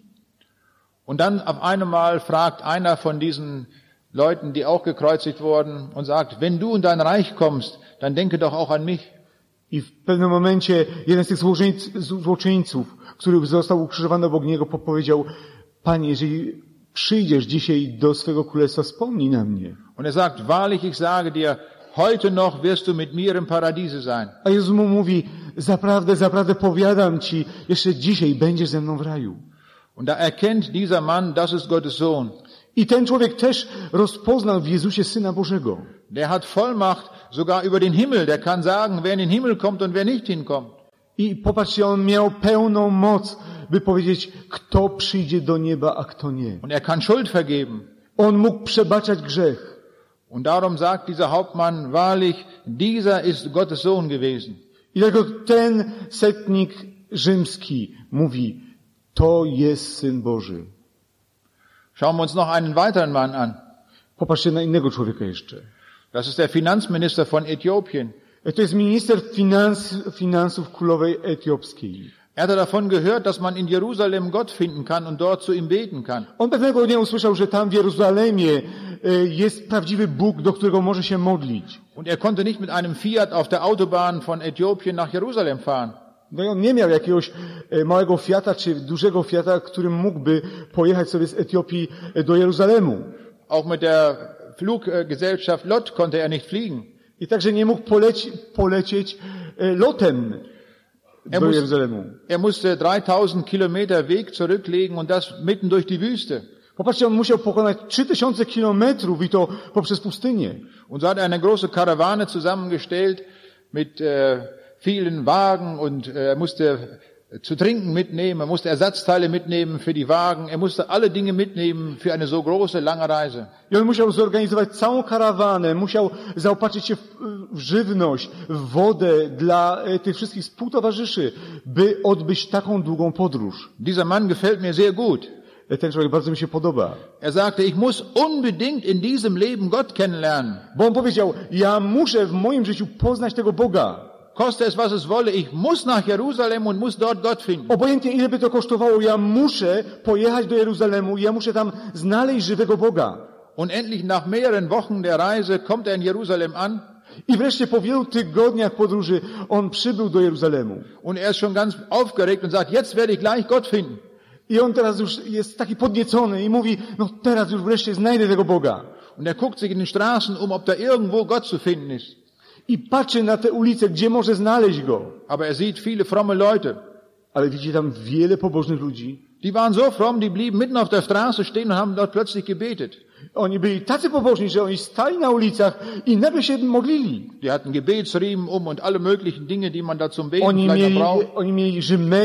Und dann auf einmal fragt einer von diesen Leuten, die auch gekreuzigt wurden, und sagt, wenn du in dein Reich kommst, dann denke doch auch an mich. I w pewnym momencie jeden z tych złoczyńców, który został ukrzyżowany obok niego, powiedział, Panie, jeżeli przyjdziesz dzisiaj do swego królestwa, wspomnij na mnie. Und er sagt, wahrlich, ich sage dir, heute noch wirst du mit mir im Paradiese sein. A Jezus mu mówi, zaprawdę, zaprawdę powiadam ci, jeszcze dzisiaj będziesz ze mną w raju. Und da erkennt dieser Mann, das ist Gottes Sohn. I ten człowiek też rozpoznał w Jezusie Syna Bożego. Der hat Vollmacht sogar über den Himmel. Der kann sagen, wer in den Himmel kommt und wer nicht hinkommt. I popatrzcie, on miał pełną moc, by powiedzieć, kto przyjdzie do nieba, a kto nie. Und er kann Schuld vergeben. On mógł przebaczać grzech. Und darum sagt dieser Hauptmann, wahrlich, dieser ist Gottes Sohn gewesen. I dlatego ten setnik rzymski mówi, to jest Syn Boży. Schauen wir uns noch einen weiteren Mann an. Popatrzcie na innego człowieka jeszcze. Das ist der Finanzminister von Äthiopien. To jest minister finansów królowej etiopskiej. Er hatte davon gehört, dass man in Jerusalem Gott finden kann und dort zu ihm beten kann. On pewnego dnia usłyszał, że tam w Jeruzalemie jest prawdziwy Bóg, do którego może się modlić. Und er konnte nicht mit einem Fiat auf der Autobahn von Äthiopien nach Jerusalem fahren. No i on nie miał jakiegoś małego Fiata czy dużego Fiata, którym mógłby pojechać sobie z Etiopii do Jeruzalemu. Auch mit der Fluggesellschaft LOT konnte er nicht fliegen. I także nie mógł polecieć lotem do Jeruzalemu. Er musste 3000 Kilometer Weg zurücklegen und das mitten durch die Wüste. Popatrzcie, on musiał pokonać 3000 kilometrów i to poprzez pustynię. Und so hat er eine große Karawane zusammengestellt mit vielen Wagen und er musste zu trinken mitnehmen, er musste Ersatzteile mitnehmen für die Wagen, er musste alle Dinge mitnehmen für eine so große, lange Reise. I on musiał zorganizować całą karawanę, musiał zaopatrzyć się w żywność, w wodę dla tych wszystkich współtowarzyszy, by odbyć taką długą podróż. Dieser Mann gefällt mir sehr gut. Ten człowiek bardzo mi się podoba. Er sagte, ich muss unbedingt in diesem Leben Gott kennenlernen. Bo on powiedział, ja muszę w moim życiu poznać tego Boga. Koste es, was es wolle, ich muss nach Jerusalem und muss dort Gott finden. Obojętnie ile by to kosztowało, ja muszę pojechać do Jeruzalemu, ja muszę tam znaleźć żywego Boga. Und endlich nach mehreren Wochen der Reise kommt er in Jerusalem an. I wreszcie po wielu tygodniach podróży on przybył do Jeruzalemu. Und er ist schon ganz aufgeregt und sagt, jetzt werde ich gleich Gott finden. I on teraz już jest taki podniecony i mówi, no teraz już wreszcie znajdę tego Boga. Und er guckt sich in den Straßen um, ob da irgendwo Gott zu finden ist. I patrzy na te ulice, gdzie może znaleźć go. Aber er sieht viele fromme Leute. Ale widzi tam wiele pobożnych ludzi. Die waren so fromm, die blieben mitten auf der Straße stehen und haben dort plötzlich gebetet. Oni byli tacy pobożni, że oni stali na ulicach i nagle się modlili. Die hatten Gebetsriemen und alle möglichen Dinge, die man da zum Beten vielleicht braucht. Oni mieli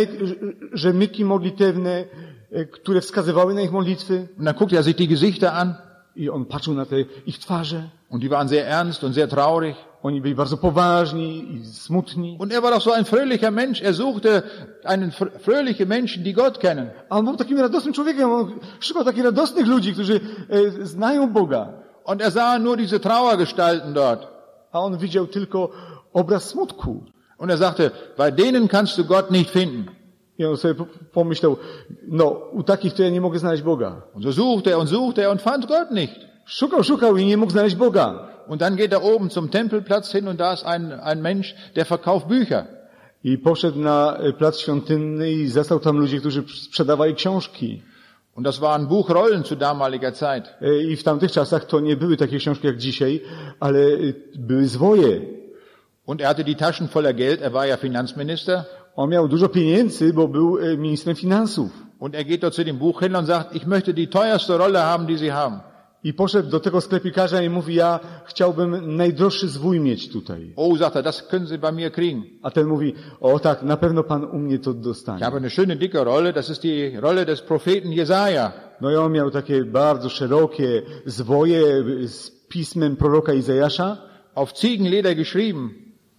rzemyki modlitewne, które wskazywały na ich modlitwy. Und dann guckt er sich die Gesichter an. I on patrzył na te ich twarze. Und die waren sehr ernst und sehr traurig. Oni byli bardzo poważni i smutni. Und er war doch so ein fröhlicher Mensch. Er suchte fröhliche Menschen, die Gott kennen. A on był takim radosnym człowiekiem. On szukał takich radosnych ludzi, którzy znają Boga. Und er sah nur diese Trauergestalten dort. A on widział tylko obraz smutku. Und er sagte, bei denen kannst du Gott nicht finden. I on sobie pomyślał, no, u takich to ja nie mogę znaleźć Boga. Und so suchte er und fand Gott nicht. Szukał i nie mógł znaleźć Boga. Und dann geht er oben zum Tempelplatz hin und da ist ein Mensch, der verkauft Bücher. I poszedł na plac świątynny i zastał tam ludzi, którzy sprzedawali książki. Und das waren Buchrollen zu damaliger Zeit. I w tamtych czasach to nie były takie książki jak dzisiaj, ale były zwoje. Und er hatte die Taschen voller Geld, er war ja Finanzminister. On miał dużo pieniędzy, bo był ministrem finansów. Und er geht dort zu dem Buchhändler und sagt, ich möchte die teuerste Rolle haben, die Sie haben. I poszedł do tego sklepikarza i mówi, ja chciałbym najdroższy zwój mieć tutaj. Oh, sagt er, das können Sie bei mir kriegen. A ten mówi, o tak, na pewno pan u mnie to Ich dostanie. habe eine schöne dicke Rolle, das ist die Rolle des Propheten Jesaja. No i on miał takie bardzo szerokie zwoje z pismem proroka Izajasza. Auf Ziegenleder geschrieben.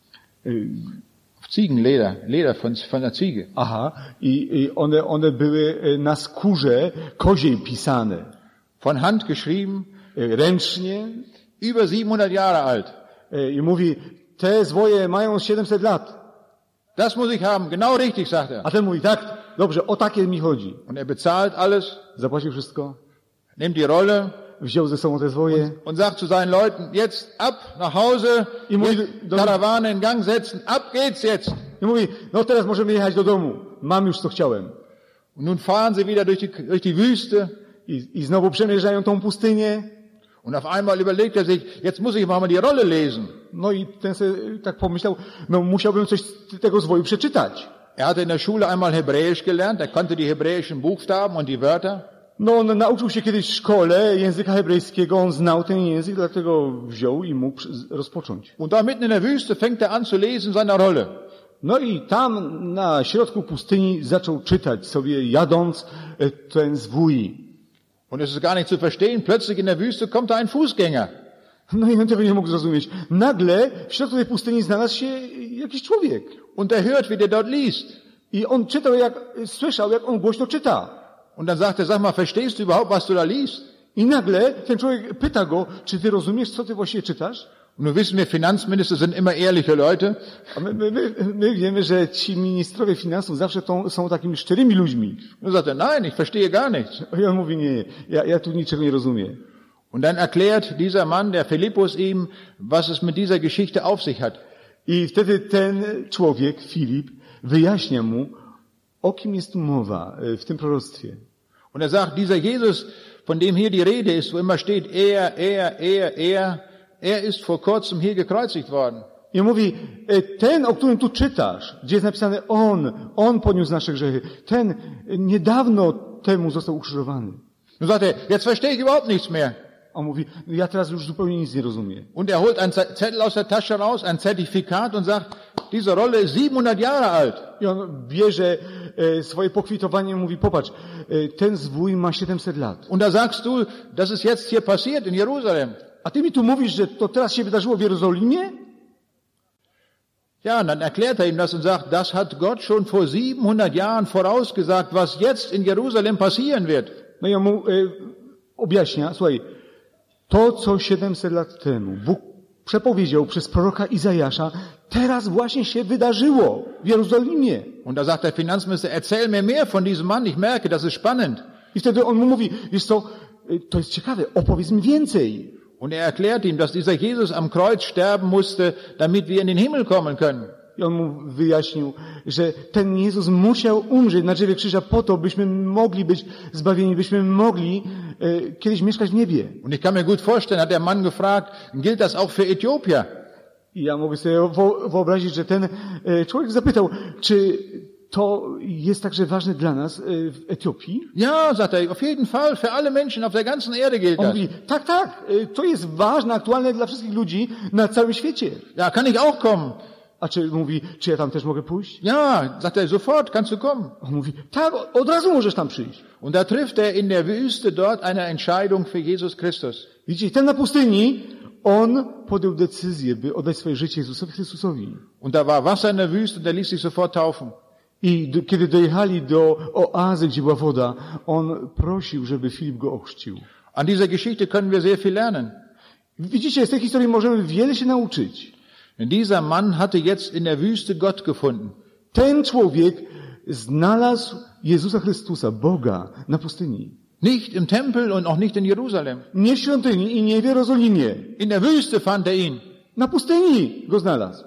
Auf Ziegenleder, Leder von der Ziege. Aha, i one były na skórze koziej pisane. Von Hand geschrieben, Ręcznie. über 700 Jahre alt. I mówi, te zwoje mają 700 lat. Das muss ich haben, genau richtig, sagt er. A ten mówi, tak, dobrze, o takie mi chodzi. Und er bezahlt alles, Zapłacił wszystko, nimmt die Rolle wziął ze sobą te zwoje und sagt zu seinen Leuten, jetzt ab nach Hause, I mówi jetzt Karawane in Gang setzen, ab geht's jetzt. i mówi, no teraz możemy jechać do domu. Mam już co chciałem. Und nun fahren sie wieder durch die Wüste. I znowu przemierzają tą pustynię. Und auf einmal überlegt er sich, jetzt muss ich mal die Rolle lesen. No i ten sobie tak pomyślał, no musiałbym coś z tego zwoju przeczytać. Er hatte in der Schule einmal Hebräisch gelernt, er konnte die hebräischen Buchstaben und die Wörter. No on nauczył się kiedyś w szkole języka hebrajskiego, on znał ten język, dlatego wziął i mógł rozpocząć. Und da mitten in der Wüste fängt er an zu lesen in seiner Rolle. No i tam na środku pustyni zaczął czytać sobie jadąc ten zwój. Und es ist gar nicht zu verstehen, plötzlich in der Wüste kommt da ein Fußgänger. No i on tego nie mógł zrozumieć. Nagle w środku tej pustyni znalazł się jakiś człowiek. Und er hört, wie der dort liest. I on słyszał, jak on głośno czyta. Und dann sagt er, sag mal, verstehst du überhaupt, was du da liest? I nagle ten człowiek pyta go, czy ty rozumiesz, co ty właściwie czytasz? Und nun wissen wir, Finanzminister sind immer ehrliche Leute. A my wiemy, że ci ministrowie finansów zawsze są takimi szczerymi ludźmi. Und sagt er, nein, ich verstehe gar nichts. I on mówi, nie, ja tu niczego nie rozumiem. Und dann erklärt dieser Mann, der Philippus, ihm, was es mit dieser Geschichte auf sich hat. I wtedy ten człowiek, Filip, wyjaśnia mu, o kim jest tu mowa w tym proroctwie. Und er sagt, dieser Jesus, von dem hier die Rede ist, wo immer steht, er ist vor kurzem hier gekreuzigt worden. I mówi, ten, o którym tu czytasz, gdzie jest napisane on poniósł nasze grzechy, ten niedawno temu został ukrzyżowany. Nun sagt er, jetzt verstehe ich überhaupt nichts mehr. On mówi, ja teraz już zupełnie nic nie rozumiem. Und er holt einen Zettel aus der Tasche raus, ein Zertifikat und sagt, diese Rolle ist 700 Jahre alt. I on bierze swoje pokwitowanie i mówi, popatrz, ten zwój ma 700 lat. Und da sagst du, das ist jetzt hier passiert in Jerusalem. A ty mi tu mówisz, że to teraz się wydarzyło w Jerozolimie? Ja, und dann erklärt er ihm das und sagt, das hat Gott schon vor 700 Jahren vorausgesagt, was jetzt in Jerusalem passieren wird. No i on mu objaśnia, słuchaj, to co 700 lat temu Bóg przepowiedział przez proroka Izajasza, teraz właśnie się wydarzyło w Jerozolimie. Und da sagt der Finanzminister, erzähl mir mehr von diesem Mann, ich merke, das ist spannend. I wtedy on mu mówi, wiesz co, to jest ciekawe, opowiedz mi więcej. Und er erklärt ihm, dass dieser Jesus am Kreuz sterben musste, damit wir in den Himmel kommen können. I on mu wyjaśnił, że ten Jezus musiał umrzeć na drzewie krzyża po to, byśmy mogli być zbawieni, byśmy mogli kiedyś mieszkać w niebie. Und ich kann mir gut vorstellen, hat der Mann gefragt, gilt das auch für Äthiopien? I ja mogę sobie wyobrazić, że ten człowiek zapytał, czy to jest także ważne dla nas w Etiopii? Ja, sagt er, auf jeden Fall, für alle Menschen auf der ganzen Erde gilt On das. mówi, tak, to jest ważne, aktualne dla wszystkich ludzi na całym świecie. Ja, kann ich auch kommen? A mówi, czy ja tam też mogę pójść? Ja, sagt er, sofort kannst du kommen. On mówi, tak, od razu możesz tam przyjść. Und da trifft er in der Wüste dort eine Entscheidung für Jesus Christus. Widzicie, ten na pustyni, on podjął decyzję, by oddać swoje życie Jezusowi Chrystusowi. Und da war Wasser in der Wüste und er ließ sich sofort taufen. I kiedy dojechali do oazy, gdzie była woda, on prosił, żeby Filip go ochrzcił. An dieser Geschichte können wir sehr viel lernen. Widzicie, z tej historii możemy wiele się nauczyć. Dieser Mann hatte jetzt in der Wüste Gott gefunden. Ten człowiek znalazł Jezusa Chrystusa, Boga, na pustyni. Nicht im Tempel und auch nicht in Jerusalem. Nie w świątyni i nie w Jerozolimie. In der Wüste fand er ihn. Na pustyni go znalazł.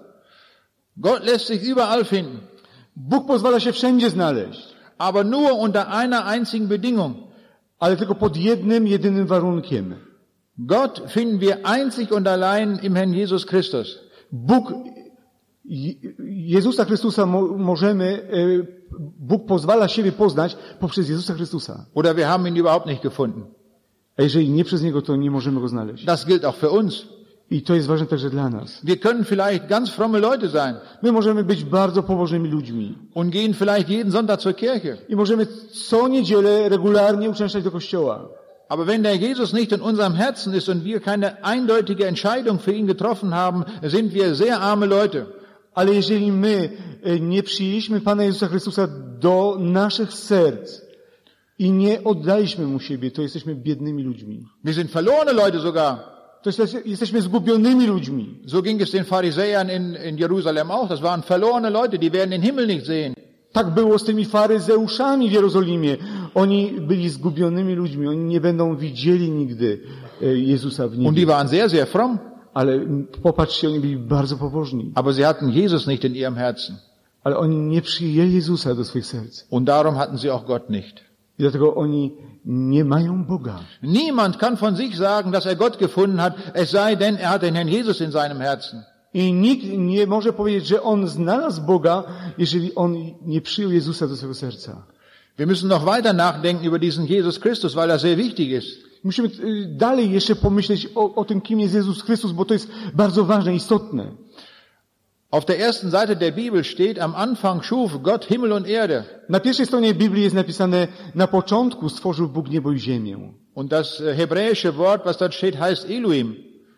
Gott lässt sich überall finden. Bóg pozwala się wszędzie znaleźć. Aber nur unter einer einzigen Bedingung. Ale tylko pod jednym, jedynym warunkiem. Gott finden wir einzig und allein im Herrn Jesus Christus. Jezusa Chrystusa możemy Bóg pozwala siebie poznać poprzez Jezusa Chrystusa. Oder wir haben ihn überhaupt nicht gefunden. A jeżeli nie przez Niego, to nie możemy Go znaleźć. Das gilt auch für uns. I to jest ważne także dla nas. Wir können vielleicht ganz fromme Leute sein My możemy być bardzo pobożnymi ludźmi. und gehen vielleicht jeden Sonntag zur Kirche. I możemy co niedzielę regularnie uczęszczać do kościoła. Aber wenn der Jesus nicht in unserem Herzen ist und wir keine eindeutige Entscheidung für ihn getroffen haben, sind wir sehr arme Leute. Ale jeżeli my nie przyjęliśmy Pana Jezusa Chrystusa do naszych serc i nie oddaliśmy Mu siebie, to jesteśmy biednymi ludźmi. Wir sind verlorene Leute sogar. To jesteśmy zgubionymi ludźmi. So ging es den Pharisäern in Jerusalem auch. Das waren verlorene Leute, die werden den Himmel nicht sehen. Tak było z tymi faryzeuszami w Jerozolimie. Oni byli zgubionymi ludźmi. Oni nie będą widzieli nigdy Jezusa w Und die niebie. waren sehr, sehr fromm. Ale popatrzcie, oni byli bardzo pobożni. Aber sie hatten Jesus nicht in ihrem Herzen. Ale oni nie przyjęli Jezusa do swoich serc. Und darum hatten sie auch Gott nicht. I dlatego oni nie mają Boga. Niemand kann von sich sagen, dass er Gott gefunden hat, es sei denn, er hat den Herrn Jesus in seinem Herzen. I nikt nie może powiedzieć, że on znalazł Boga, jeżeli on nie przyjął Jezusa do swojego serca. Wir müssen noch weiter nachdenken über diesen Jesus Christus, weil er sehr wichtig ist. Musimy dalej jeszcze pomyśleć o tym, kim jest Jezus Chrystus, bo to jest bardzo ważne, istotne. Auf der ersten Seite der Bibel steht, am Anfang schuf Gott Himmel und Erde. Na pierwszej stronie Biblii jest napisane, na początku stworzył Bóg niebo i ziemię. Und das hebräische Wort, was dort steht, heißt Elohim.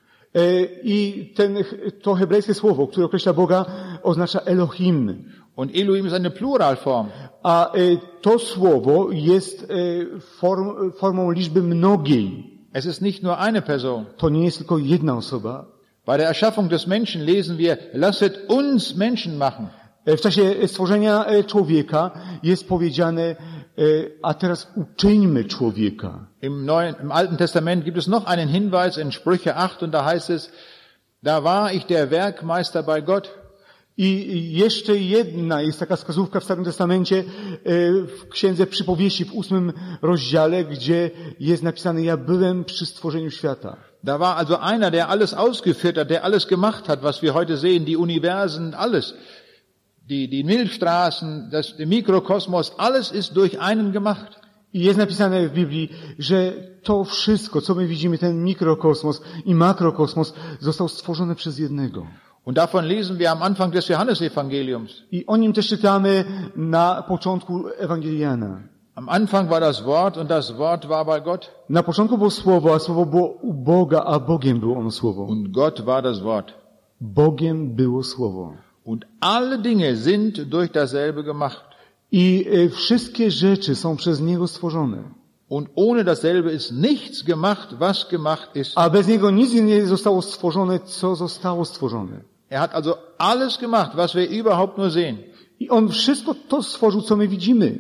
I to hebrajskie słowo, które określa Boga, oznacza Elohim. Und Elohim ist eine Pluralform. A to słowo jest formą liczby mnogiej. Es ist nicht nur eine Person. To nie jest tylko jedna osoba. Bei der Erschaffung des Menschen lesen wir, lasset uns Menschen machen. W czasie stworzenia człowieka jest powiedziane, a teraz uczyńmy człowieka. Im Alten Testament gibt es noch einen Hinweis in Sprüche 8 und da heißt es, da war ich der Werkmeister bei Gott. I jeszcze jedna jest taka wskazówka w Starym Testamencie, w Księdze Przypowieści w 8 rozdziale, gdzie jest napisane, ja byłem przy stworzeniu świata. Da war also einer, der alles ausgeführt hat, der alles gemacht hat, was wir heute sehen, die Universen, alles. Die Milchstraßen, der Mikrokosmos, alles ist durch einen gemacht. I jest napisane w Biblii, że to wszystko, co my widzimy, ten mikrokosmos i makrokosmos, został stworzony przez jednego. Und davon lesen wir am Anfang des Johannesevangeliums. I o nim też czytamy na początku Ewangelii Jana. Am Anfang war das Wort und das Wort war bei Gott. Na początku było słowo, a słowo było u Boga, a Bogiem było ono słowo. Und Gott war das Wort. Bogiem było słowo. Und alle Dinge sind durch dasselbe gemacht. I wszystkie rzeczy są przez Niego stworzone. Und ohne dasselbe ist nichts gemacht, was gemacht ist. A bez Niego nic nie zostało stworzone, co zostało stworzone. Er hat also alles gemacht, was wir überhaupt nur sehen. I On wszystko to stworzył, co my widzimy.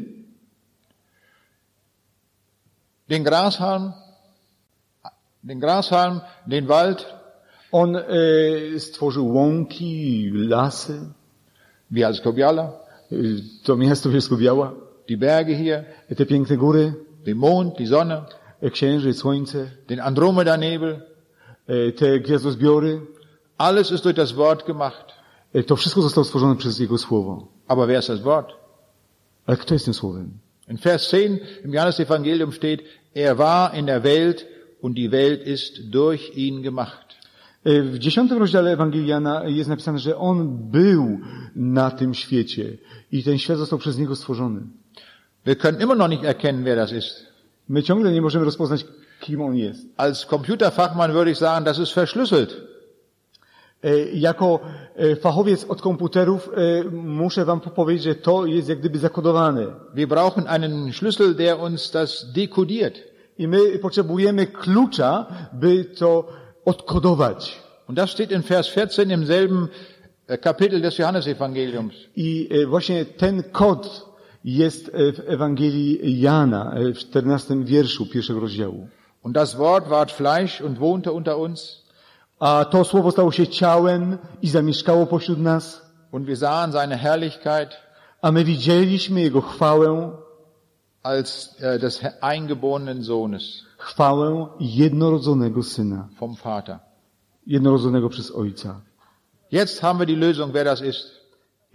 Den Grashalm, den Wald. On stworzył łąki, lasy, Bielsko-Biała, to miasto Bielsko-Biała, die Berge hier, te piękne góry, den Mond, die Sonne, księżyc, słońce, den Andromeda-Nebel. te gwiazdozbiory. Alles ist durch das Wort gemacht. To wszystko zostało stworzone przez Jego Słowo. Aber wer ist das Wort? Ale kto jest tym Słowem? In Vers 10 im Johannesevangelium steht, er war in der Welt und die Welt ist durch ihn gemacht. W 10 rozdziale Ewangelii Jana jest napisane, że On był na tym świecie i ten świat został przez Niego stworzony. Wir können immer noch nicht erkennen, wer das ist. My ciągle nie możemy rozpoznać, kim On jest. Als Computerfachmann würde ich sagen, das ist verschlüsselt. Jako fachowiec od komputerów muszę wam powiedzieć, że to jest jak gdyby zakodowane. Wir brauchen einen Schlüssel, der uns das dekodiert. I my potrzebujemy klucza, by to odkodować. Und das steht in Vers 14 im selben Kapitel des Johannesevangeliums. I właśnie ten kod jest w Ewangelii Jana, w 14 wierszu pierwszego rozdziału. Und das Wort ward Fleisch und wohnte unter uns. A to słowo stało się ciałem i zamieszkało pośród nas. Und wir sahen seine Herrlichkeit A my widzieliśmy Jego chwałę, als des eingeborenen Sohnes chwałę jednorodzonego Syna, vom Vater. jednorodzonego przez Ojca. Jetzt haben wir die Lösung, wer das ist.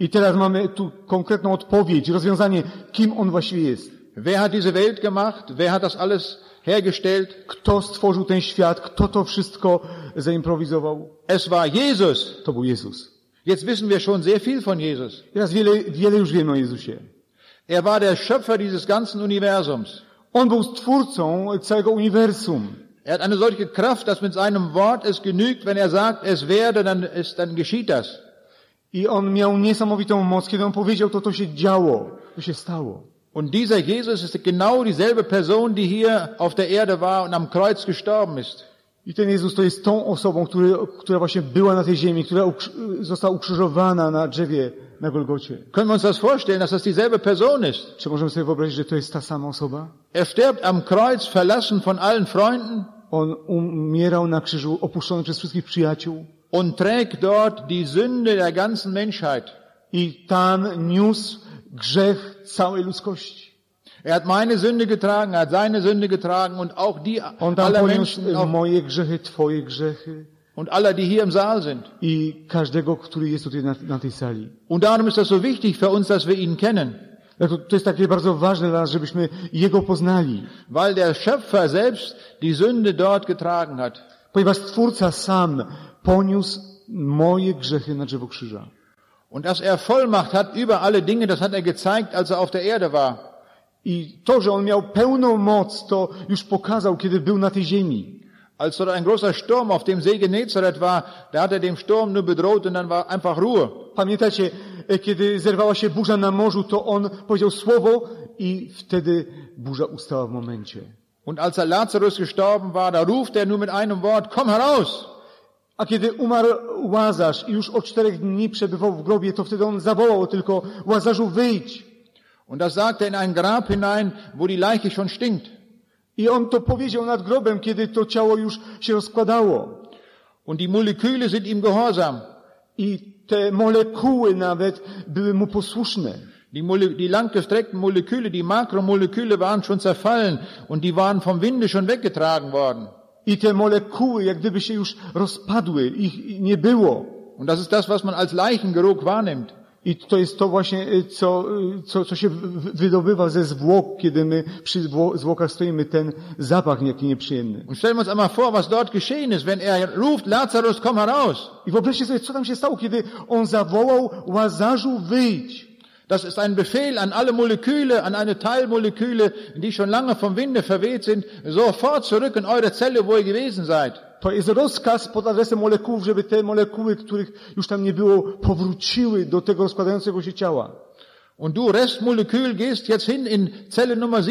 I teraz mamy tu konkretną odpowiedź, rozwiązanie, kim on właściwie jest. Wer hat diese Welt gemacht? Wer hat das alles hergestellt? Kto stworzył ten świat? Kto to wszystko zaimprowizował? Es war Jesus. To był Jezus. Jetzt wissen wir schon sehr viel von Jesus. Teraz wiele już wiemy o Jezusie. Er war der Schöpfer dieses ganzen Universums. On był stwórcą całego uniwersum. Er hat eine solche Kraft, dass mit seinem Wort es genügt, wenn er sagt, es werde, dann geschieht das. I on miał niesamowitą moc. Kiedy on powiedział, to się działo. To się stało. Und dieser Jesus ist genau dieselbe Person, die hier auf der Erde war und am Kreuz gestorben ist. I ten Jezus to jest tą osobą, która właśnie była na tej ziemi, która została ukrzyżowana na drzewie na Golgocie. Können wir uns das vorstellen, dass das dieselbe Person ist? Czy możemy sobie wyobrazić, że to jest ta sama osoba? Er stirbt am Kreuz, verlassen von allen Freunden. On umierał na krzyżu, opuszczony przez wszystkich przyjaciół. Und trägt dort die Sünde der ganzen Menschheit. I tam niósł grzech całej ludzkości. Er hat meine Sünde getragen, er hat seine Sünde getragen und auch die On tam aller poniósł Menschen moje grzechy, twoje grzechy und aller, die hier im Saal sind. i każdego, który jest tutaj na tej sali. Und darum ist das so wichtig für uns, dass wir ihn kennen. To jest takie bardzo ważne dla nas, żebyśmy Jego poznali. Weil der Schöpfer selbst die Sünde dort getragen hat. Ponieważ Stwórca sam poniósł moje grzechy na drzewo krzyża. Und dass er Vollmacht hat über alle Dinge, das hat er gezeigt, als er auf der Erde war. I to, że On miał pełną moc, to już pokazał, kiedy był na tej ziemi. Als dort ein großer Sturm auf dem See Genezareth war, da hat er dem Sturm nur bedroht und dann war einfach Ruhe. Pamiętacie, kiedy zerwała się burza na morzu, to On powiedział słowo i wtedy burza ustała w momencie. Und als er Lazarus gestorben war, da ruft er nur mit einem Wort, komm heraus! A kiedy umarł Łazarz i już od 4 dni przebywał w grobie, to wtedy on zawołał tylko, Łazarzu, wyjdź. Und das sagt er in ein Grab hinein, wo die Leiche schon stinkt. I on to powiedział nad grobem, kiedy to ciało już się rozkładało. Und die Moleküle sind ihm gehorsam. I te molekuły nawet były mu posłuszne. Die langgestreckten Moleküle, die Makromoleküle waren schon zerfallen und die waren vom Winde schon weggetragen worden. I te molekuły jak gdyby się już rozpadły, ich nie było. Und das ist das, was man als Leichengeruch wahrnimmt. I to jest to właśnie, co się wydobywa ze zwłok, kiedy my przy zwłokach stoimy, ten zapach jaki nieprzyjemny. Und stellen wir uns einmal vor, was dort geschehen ist, wenn er ruft, Lazarus, komm heraus. I wyobraźcie sobie, co tam się stało, kiedy on zawołał, Łazarzu, wyjdź. Das ist ein Befehl an alle Moleküle, an eine Teilmoleküle, die schon lange vom Winde verweht sind, sofort zurück in eure Zelle, wo ihr gewesen seid. To jest rozkaz pod adresem molekułów, żeby te molekuły, których już tam nie było, powróciły do tego rozkładającego się ciała. Und du, Restmolekül, gehst jetzt hin in Zelle Nummer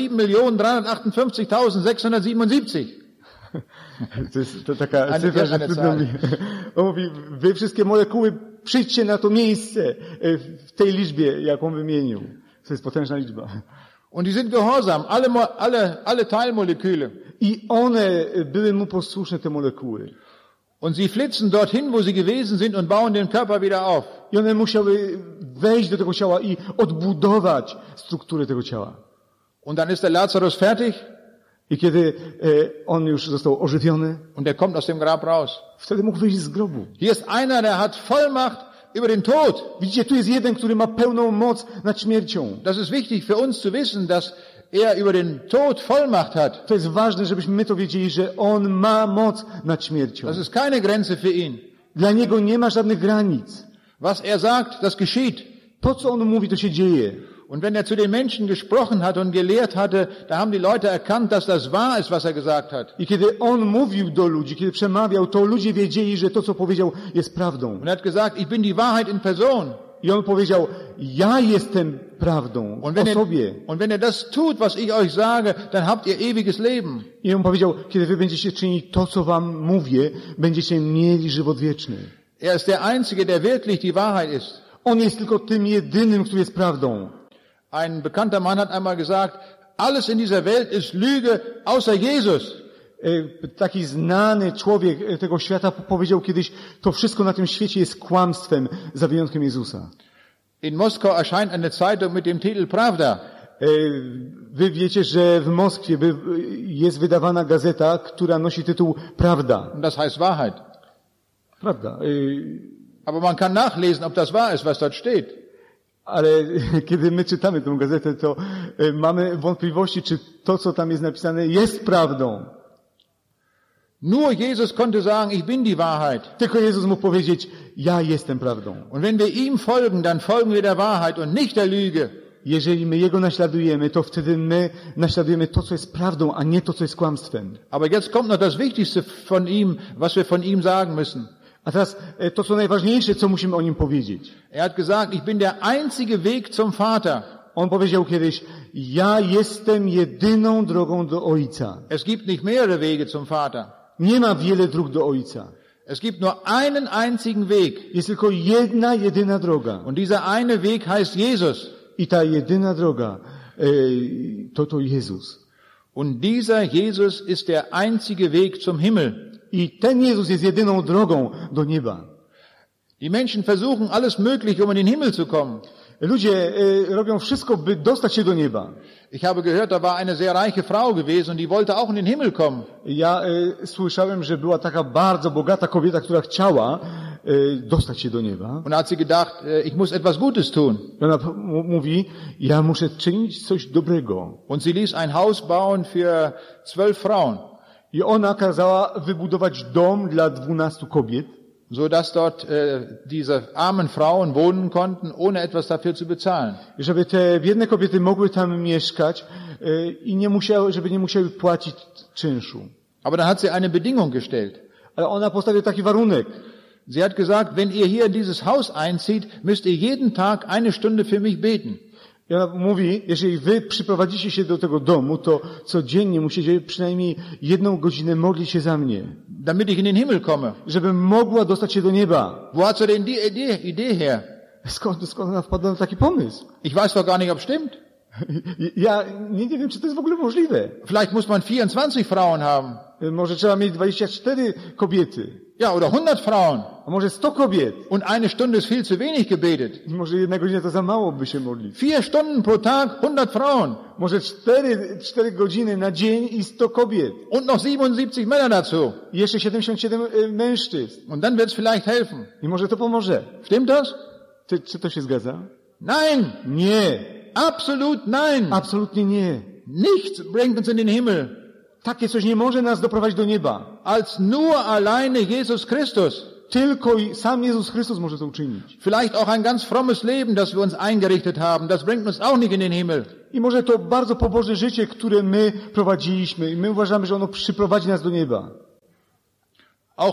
7.358.677. To taka cyfra, że trudno mi. On mówi, wy wszystkie molekuły, przyjdźcie na to miejsce w tej liczbie, jaką wymienił. To jest potężna liczba. Und die sind gehorsam, alle Teilmoleküle. I one były mu posłuszne, te molekuły. Und sie flitzen dorthin, wo sie gewesen sind und bauen den Körper wieder auf. I one musiały wejść do tego ciała i odbudować strukturę tego ciała. Und dann ist der Lazarus fertig. I kiedy on już został ożywiony, und er kommt aus dem Grab raus. Wtedy mógł wyjść z grobu. Hier ist einer, der hat Vollmacht über den Tod. Widzicie, tu jest jeden, który ma pełną moc nad śmiercią. Das ist wichtig für uns zu wissen, dass er über den Tod Vollmacht hat. To jest ważne, żebyśmy my to wiedzieli, że on ma moc nad śmiercią. Das ist keine Grenze für ihn. Dla niego nie ma żadnych granic. Was er sagt, das geschieht. To, co on mówi, to się dzieje. Und wenn er zu den Menschen gesprochen hat und gelehrt hatte, da haben die Leute erkannt, dass das wahr ist, was er gesagt hat. I kiedy on mówił do ludzi, kiedy przemawiał, to ludzie wiedzieli, że to, co powiedział, jest prawdą. Und er hat gesagt, ich bin die Wahrheit in Person. I on powiedział, ja jestem prawdą o sobie. Und wenn er das tut, was ich euch sage, dann habt ihr ewiges Leben. I on powiedział, kiedy wy będziecie czynić to, co wam mówię, będziecie mieli żywot wieczny. Er ist der Einzige, der wirklich die Wahrheit ist. On jest tylko tym jedynym, który jest prawdą. Ein bekannter Mann hat einmal gesagt, alles in dieser Welt ist Lüge, außer Jesus. Taki znany człowiek tego świata powiedział kiedyś, to wszystko na tym świecie jest kłamstwem, za wyjątkiem Jezusa. In Moskau erscheint eine Zeitung mit dem Titel Pravda. Wy wiecie, że w Moskwie jest wydawana gazeta, która nosi tytuł Prawda. Und das heißt Wahrheit. Prawda. Aber man kann nachlesen, ob das wahr ist, was dort steht. Ale kiedy my czytamy tę gazetę, to mamy wątpliwości, czy to, co tam jest napisane, jest prawdą. Nur Jesus konnte sagen, ich bin die Wahrheit. Tylko Jezus mógł powiedzieć, ja jestem prawdą. Und wenn wir ihm folgen, dann folgen wir der Wahrheit und nicht der Lüge. Jeżeli my Jego naśladujemy, to wtedy my naśladujemy to, co jest prawdą, a nie to, co jest kłamstwem. Aber jetzt kommt noch das Wichtigste von ihm, was wir von ihm sagen müssen. A teraz to, co najważniejsze, co musimy o Nim powiedzieć. Er hat gesagt, ich bin der einzige Weg zum Vater. On powiedział kiedyś, ja jestem jedyną drogą do Ojca. Es gibt nicht mehrere Wege zum Vater. Nie ma wiele dróg do Ojca. Es gibt nur einen einzigen Weg. Jest tylko jedna, jedyna droga. Und dieser eine Weg heißt Jesus. I ta jedyna droga to Jezus. Und dieser Jesus ist der einzige Weg zum Himmel. I ten Jezus jest jedyną drogą do nieba. Die Menschen versuchen alles Mögliche, um in den Himmel zu kommen. Ludzie robią wszystko, by dostać się do nieba. Ich habe gehört, da war eine sehr reiche Frau gewesen und die wollte auch in den Himmel kommen. Ja słyszałem, że była taka bardzo bogata kobieta, która chciała dostać się do nieba. Und hat sie gedacht, ich muss etwas Gutes tun. Ona mówi, ja muszę czynić coś dobrego. Und sie ließ ein Haus bauen für 12 Frauen. I ona kazała wybudować dom dla 12 kobiet, so dass dort diese armen Frauen wohnen konnten, ohne etwas dafür zu bezahlen. Żeby te biedne kobiety mogły tam mieszkać i żeby nie musiały płacić czynszu. Aber dann hat sie eine Bedingung gestellt. Ale ona postawiła taki warunek. Sie hat gesagt, wenn ihr hier in dieses Haus einzieht, müsst ihr jeden Tag 1 Stunde für mich beten. I ona mówi, jeżeli wy przyprowadzicie się do tego domu, to codziennie musicie przynajmniej 1 godzinę modlić się za mnie. Damit ich in den Himmel komme. Żebym mogła dostać się do nieba. Wo hat sie denn die Idee her? Skąd ona wpadła na taki pomysł? Ich weiß doch gar nicht, ob stimmt. Ja nie wiem, czy to jest w ogóle możliwe. Vielleicht muss man 24 Frauen haben. Może trzeba mieć 24 kobiety. Ja, oder 100 Frauen. A może 100 kobiet. Und 1 Stunde ist viel zu wenig gebetet. Może 1 godzina to za mało, by się modlić. 4 Stunden pro Tag, 100 Frauen. Może 4 godziny na dzień i 100 kobiet. Und noch 77 Männer dazu. I jeszcze 77 mężczyzn. Und dann wird's vielleicht helfen. I może to pomoże. Stimmt das? Czy to się zgadza? Nein. Nie. Absolut nein. Absolutnie nie. Nichts bringt uns in den Himmel. Takie coś nie może nas doprowadzić do nieba. Als nur alleine Jesus Christus. Tylko i sam Jezus Chrystus może to uczynić. Vielleicht auch ein ganz frommes Leben, das wir uns eingerichtet haben. Das bringt uns auch nicht in den Himmel. I może to bardzo pobożne życie, które my prowadziliśmy. I my uważamy, że ono przyprowadzi nas do nieba. Auch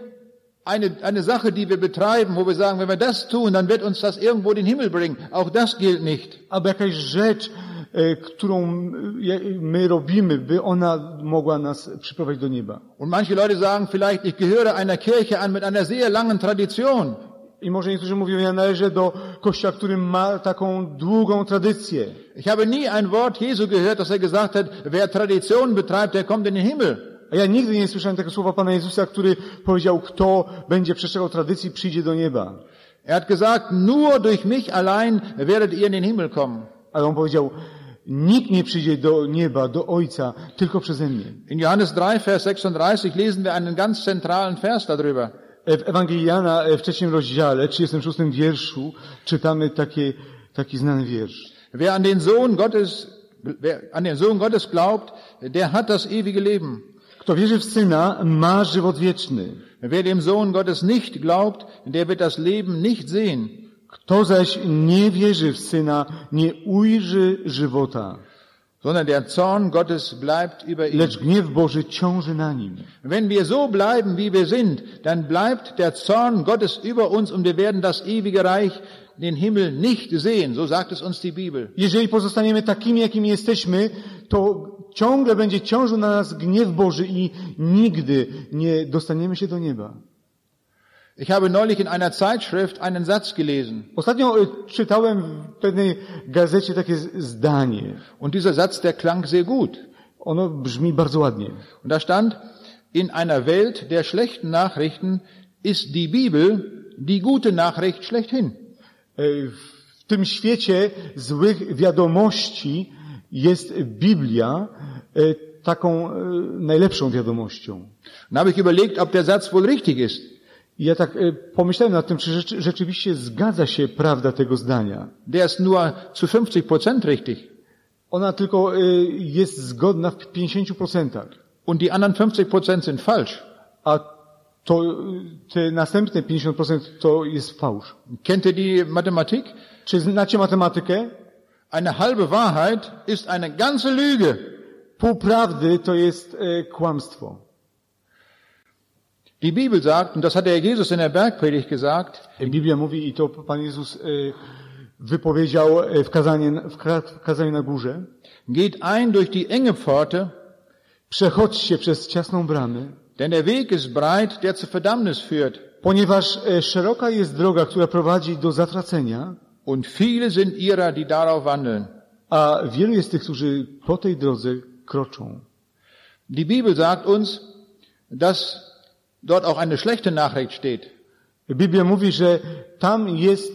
eine Sache, die wir betreiben, wo wir sagen, wenn wir das tun, dann wird uns das irgendwo in den Himmel bringen. Auch das gilt nicht. Albo jakaś rzecz, którą my robimy, by ona mogła nas przyprowadzić do nieba. Und manche Leute sagen vielleicht, ich gehöre einer Kirche an mit einer sehr langen Tradition. I może niektórzy mówią, ja należę do kościoła, który ma taką długą tradycję. Ich habe nie ein Wort Jesu gehört, dass er gesagt hat, wer Tradition betreibt, der kommt in den Himmel. A ja nigdy nie słyszałem tego słowa Pana Jezusa, który powiedział, kto będzie przestrzegał tradycji, przyjdzie do nieba. Er hat gesagt, nur durch mich allein werdet ihr in den Himmel kommen. Ale on powiedział, nikt nie przyjdzie do nieba, do Ojca, tylko przeze mnie. In Johannes 3, Vers 36 lesen wir einen ganz zentralen Vers darüber. W Ewangelii Jana, w 3 rozdziale, 36 wierszu, czytamy taki znany wiersz. Wer an den Sohn Gottes glaubt, der hat das ewige Leben. Kto wierzy w Syna, ma żywot wieczny. Wer dem Sohn Gottes nicht glaubt, der wird das Leben nicht sehen. Kto zaś nie wierzy w Syna, nie ujrzy żywota. Sondern der Zorn Gottes bleibt über ihm. Lecz gniew Boży ciąży na nim. Wenn wir so bleiben, wie wir sind, dann bleibt der Zorn Gottes über uns und wir werden das ewige Reich, den Himmel, nicht sehen. So sagt es uns die Bibel. Jeżeli pozostaniemy takimi, jakimi jesteśmy, to ciągle będzie ciążył na nas gniew Boży i nigdy nie dostaniemy się do nieba. Ich habe neulich in einer Zeitschrift einen Satz gelesen. Ostatnio czytałem w pewnej gazecie takie zdanie. Und dieser Satz, der klang sehr gut. Ono brzmi bardzo ładnie. Und da stand, in einer Welt der schlechten Nachrichten ist die Bibel die gute Nachricht schlechthin. W tym świecie złych wiadomości jest Biblia taką najlepszą wiadomością. Dann habe ich überlegt, ob der Satz wohl richtig ist. I ja tak pomyślałem nad tym, czy rzeczywiście zgadza się prawda tego zdania. Der ist nur zu 50% richtig. Ona tylko jest zgodna w 50%. Und die anderen 50% sind falsch. A to te następne 50% to jest fałsz. Kennt ihr die Mathematik? Czy znacie matematykę? Eine halbe Wahrheit ist eine ganze Lüge. Pół prawdy to jest kłamstwo. Die Bibel sagt, und das hat der Jesus in der Bergpredigt gesagt, Biblia mówi, i to Pan Jezus wypowiedział w kazaniu na górze, geht ein durch die enge Pforte, przechodźcie przez ciasną bramę, denn der Weg ist breit, der zur Verdammnis führt. ponieważ szeroka jest droga, która prowadzi do zatracenia, Und viele sind ihrer, die darauf wandeln. a wielu jest tych, którzy po tej drodze kroczą. Die Bibel sagt uns, dass dort auch eine schlechte Nachricht steht. Biblia mówi, że tam jest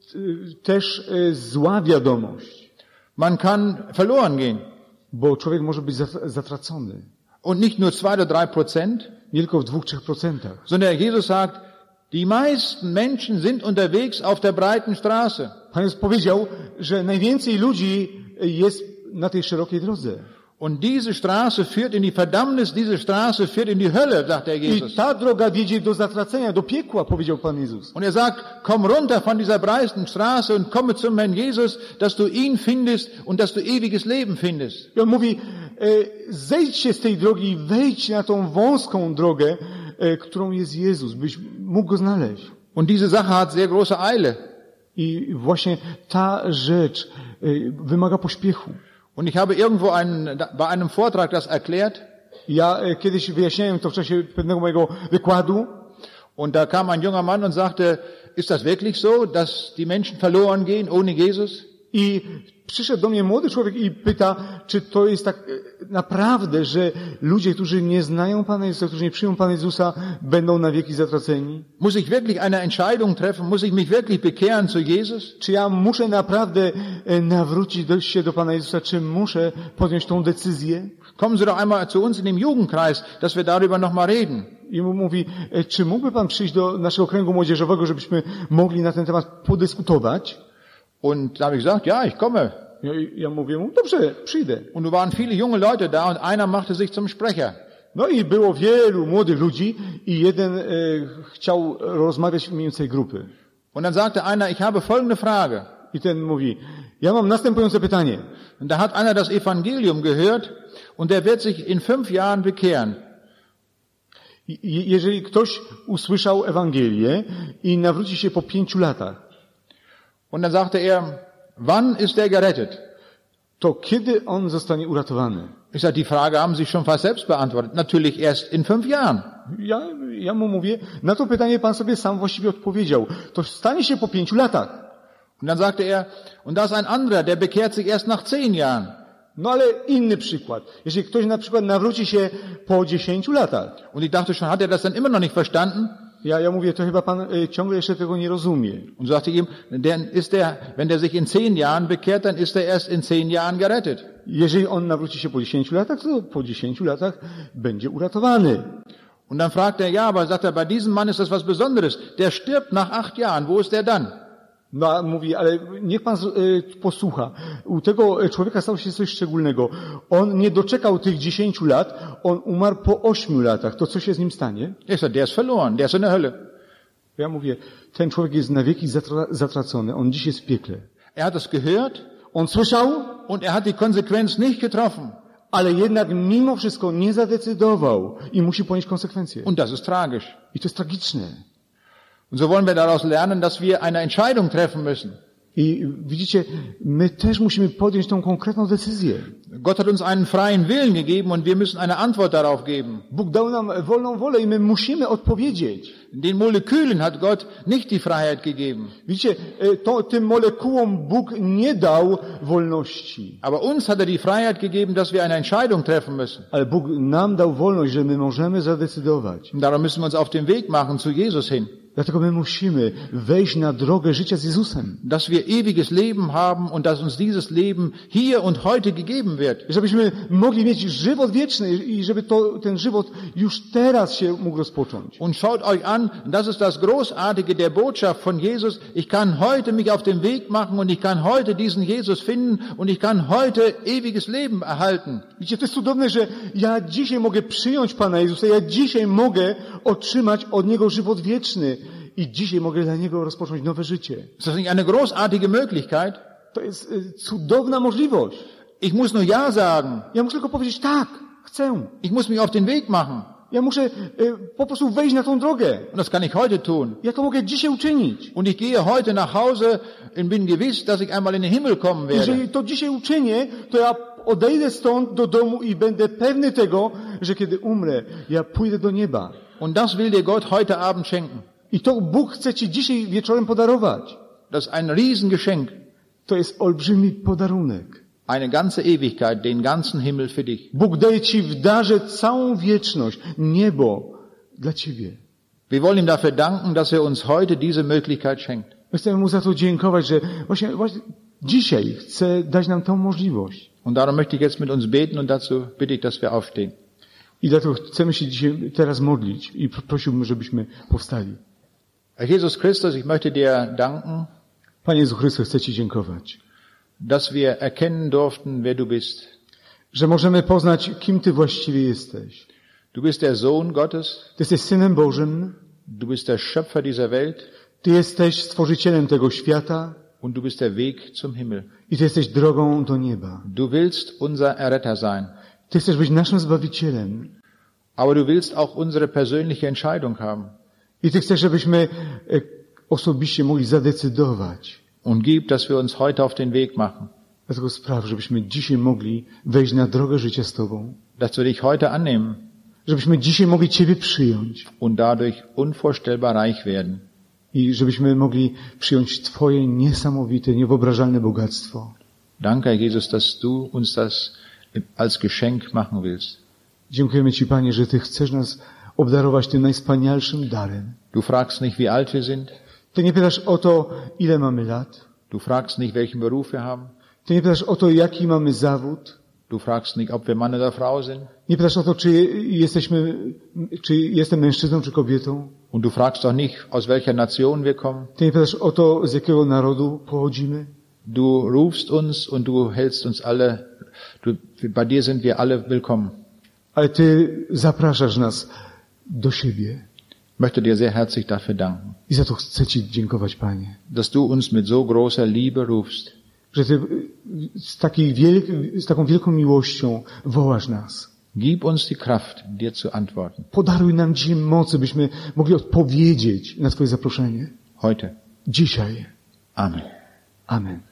też zła wiadomość, Man kann verloren gehen. bo człowiek może być zatracony. Und nicht nur 2 oder 3%, Nie tylko w 2-3%. sondern Jesus sagt, die meisten Menschen sind unterwegs auf der breiten Straße. Pan Jezus powiedział, że najwięcej ludzi jest na tej szerokiej drodze. Und diese Straße führt in die Verdammnis, diese Straße führt in die Hölle, sagt der Jesus. I ta droga wiedzie do zatracenia, do piekła, powiedział Pan Jezus. Und er sagt, komm runter von dieser breiten Straße und komme zum Herrn Jesus, dass du ihn findest und dass du ewiges Leben findest. I on mówi, zejdźcie z tej drogi i wejdź na tą wąską drogę, którą jest Jezus, byś mógł go znaleźć. Und diese Sache hat sehr große Eile. I właśnie ta rzecz wymaga pośpiechu. Und ich habe irgendwo bei einem Vortrag das erklärt. Ja kiedyś wyjaśniałem to w czasie pewnego mojego wykładu. Und da kam ein junger Mann und sagte, ist das wirklich so, dass die Menschen verloren gehen ohne Jesus? I przyszedł do mnie młody człowiek i pyta, czy to jest tak naprawdę, że ludzie, którzy nie znają Pana Jezusa, którzy nie przyjmą Pana Jezusa, będą na wieki zatraceni? Muss ich wirklich eine Entscheidung treffen? Muss ich mich wirklich bekehren zu Jesus? Czy ja muszę naprawdę nawrócić się do Pana Jezusa? Czy muszę podjąć tą decyzję? Kommen Sie doch einmal zu uns in den Jugendkreis, dass wir darüber noch mal reden. I mu mówi, czy mógłby Pan przyjść do naszego kręgu młodzieżowego, żebyśmy mogli na ten temat podyskutować? Und da habe ich gesagt, ja, ich komme. Ja mówię mu, dobrze, przyjdę. Und da waren viele junge Leute da und einer machte sich zum Sprecher. No i było wielu młodych ludzi i jeden chciał rozmawiać w imieniu tej grupy. Und dann sagte einer, ich habe folgende Frage. I ten mówi, ja mam następujące pytanie. Und da hat einer das Evangelium gehört und der wird sich in 5 Jahren bekehren. Jeżeli ktoś usłyszał Ewangelię i nawróci się po 5 latach, und dann sagte er, wann ist der gerettet? To kiedy on zostanie uratowany? Ich sage, die Frage haben Sie schon fast selbst beantwortet. Natürlich erst in 5 Jahren. Ja mu mówię, na to pytanie pan sobie sam właściwie odpowiedział. To stanie się po 5 latach. Und dann sagte er, und da ist ein anderer, der bekehrt sich erst nach 10 Jahren. No ale inny przykład. Jeżeli ktoś na przykład nawróci się po 10 latach. Und ich dachte schon, hat er das dann immer noch nicht verstanden? Ja mówię, to chyba pan ciągle jeszcze tego nie rozumie. Und sagte ihm, wenn der sich in 10 Jahren bekehrt, dann ist er erst in 10 Jahren gerettet. Jeżeli on nawróci się po 10 latach, to po 10 latach będzie uratowany. Und dann fragt er, ja, aber sagt er, bei diesem Mann ist das was Besonderes. Der stirbt nach 8 Jahren. Wo ist der dann? No a mówi, ale niech pan posłucha. U tego człowieka stało się coś szczególnego. On nie doczekał tych 10 lat, on umarł po 8 latach. To co się z nim stanie? Der ist verloren, der ist in der Hölle. Ja mówię, ten człowiek jest na wieki zatracony. On dziś jest w piekle. Er hat es gehört. On słyszał. Und er hat die Konsequenz nicht getroffen. Ale jednak mimo wszystko nie zadecydował i musi ponieść konsekwencje. Und das ist tragisch. I to jest tragiczne. Und so wollen wir daraus lernen, dass wir eine Entscheidung treffen müssen. I widzicie, my też musimy podjąć tą konkretną decyzję. Gott hat uns einen freien Willen gegeben und wir müssen eine Antwort darauf geben. Bóg dał nam wolną wolę i my musimy odpowiedzieć. Den Molekülen hat Gott nicht die Freiheit gegeben. Widzicie, tym molekułom Bóg nie dał wolności. Aber uns hat die Freiheit gegeben, dass wir eine Entscheidung treffen müssen. Ale Bóg nam dał wolność, że my możemy zadecydować. Und darum müssen wir uns auf den Weg machen zu Jesus hin. Dlatego my musimy wejść na drogę życia z Jezusem. Dass wir ewiges Leben haben und dass uns dieses Leben hier und heute gegeben wird. Żebyśmy mogli mieć żywot wieczny i żeby ten żywot już teraz się mógł rozpocząć. Und schaut euch an, das ist das Großartige der Botschaft von Jesus. Ich kann heute mich auf den Weg machen und ich kann heute diesen Jesus finden und ich kann heute ewiges Leben erhalten. Widzicie, to jest cudowne, że ja dzisiaj mogę przyjąć Pana Jezusa, ja dzisiaj mogę otrzymać od Niego żywot wieczny i dzisiaj mogę dla Niego rozpocząć nowe życie. Ist das nicht eine großartige Möglichkeit? To jest cudowna możliwość. Ich muss nur Ja sagen. Ja muszę tylko powiedzieć tak, chcę. Ich muss mich auf den Weg machen. Ja muszę po prostu wejść na tą drogę. Und das kann ich heute tun. Ja to mogę dzisiaj uczynić. Und ich gehe heute nach Hause und bin gewiss, dass ich einmal in den Himmel kommen werde. Jeżeli to dzisiaj uczynię, to ja odejdę stąd do domu i będę pewny tego, że kiedy umrę, ja pójdę do nieba. Und das will dir Gott heute Abend schenken. I to Bóg chce Ci dzisiaj wieczorem podarować. Das ist ein Riesengeschenk. To jest olbrzymi podarunek. Eine ganze Ewigkeit, den ganzen Himmel für dich. Bóg daje Ci w darze całą wieczność, niebo dla Ciebie. Wir wollen ihm dafür danken, dass er uns heute diese Möglichkeit schenkt. My chcemy Mu za to dziękować, że właśnie dzisiaj chce dać nam tą możliwość. Und darum möchte ich jetzt mit uns beten und dazu bitte ich, dass wir aufstehen. I dlatego chcemy się dzisiaj teraz modlić i prosiłbym, żebyśmy powstali. Herr Jesus Christus, ich möchte dir danken, Panie Jezu Chryste, chcę Ci dziękować, dass wir erkennen durften, wer du bist. że możemy poznać, kim Ty właściwie jesteś. Du bist der Sohn Gottes, Ty jesteś Synem Bożym, du bist der Schöpfer dieser Welt Ty jesteś Stworzycielem tego świata und du bist der Weg zum Himmel. i Ty jesteś drogą do nieba. Du willst unser Erretter sein, Ty chcesz być naszym Zbawicielem aber du willst auch unsere persönliche Entscheidung haben. i Ty chcesz, żebyśmy osobiście mogli zadecydować. Und gib, dass wir uns heute auf den Weg machen, Dlatego spraw, żebyśmy dzisiaj mogli wejść na drogę życia z Tobą. dass wir dich heute annehmen Żebyśmy dzisiaj mogli Ciebie przyjąć und dadurch unvorstellbar reich werden. i żebyśmy mogli przyjąć Twoje niesamowite, niewyobrażalne bogactwo. Danke, Herr Jesus, dass du uns das als Geschenk machen willst. Dziękujemy Ci, Panie, że Ty chcesz nas obdarować tym najwspanialszym darem. Du fragst nicht, wie alt wir sind. Ty nie pytasz o to, ile mamy lat. Du fragst nicht, welchen Beruf wir haben. Ty nie pytasz o to, jaki mamy zawód. Du fragst nicht, ob wir Mann oder Frau sind. Nie pytasz o to, czy jestem mężczyzną, czy kobietą. Und du fragst auch nicht, aus welcher Nation wir kommen. Ty nie pytasz o to, z jakiego narodu pochodzimy. Du rufst uns und du hältst uns alle, bei dir sind wir alle willkommen. Ale Ty zapraszasz nas do siebie. Ich möchte dir sehr herzlich dafür danken, I za to chcę Ci dziękować, Panie. dass du uns mit so großer Liebe rufst. Że Ty z taką wielką miłością wołasz nas. Gib uns die Kraft, dir zu antworten. Podaruj nam dzisiaj mocy, byśmy mogli odpowiedzieć na Twoje zaproszenie. Heute. Dzisiaj. Amen. Amen.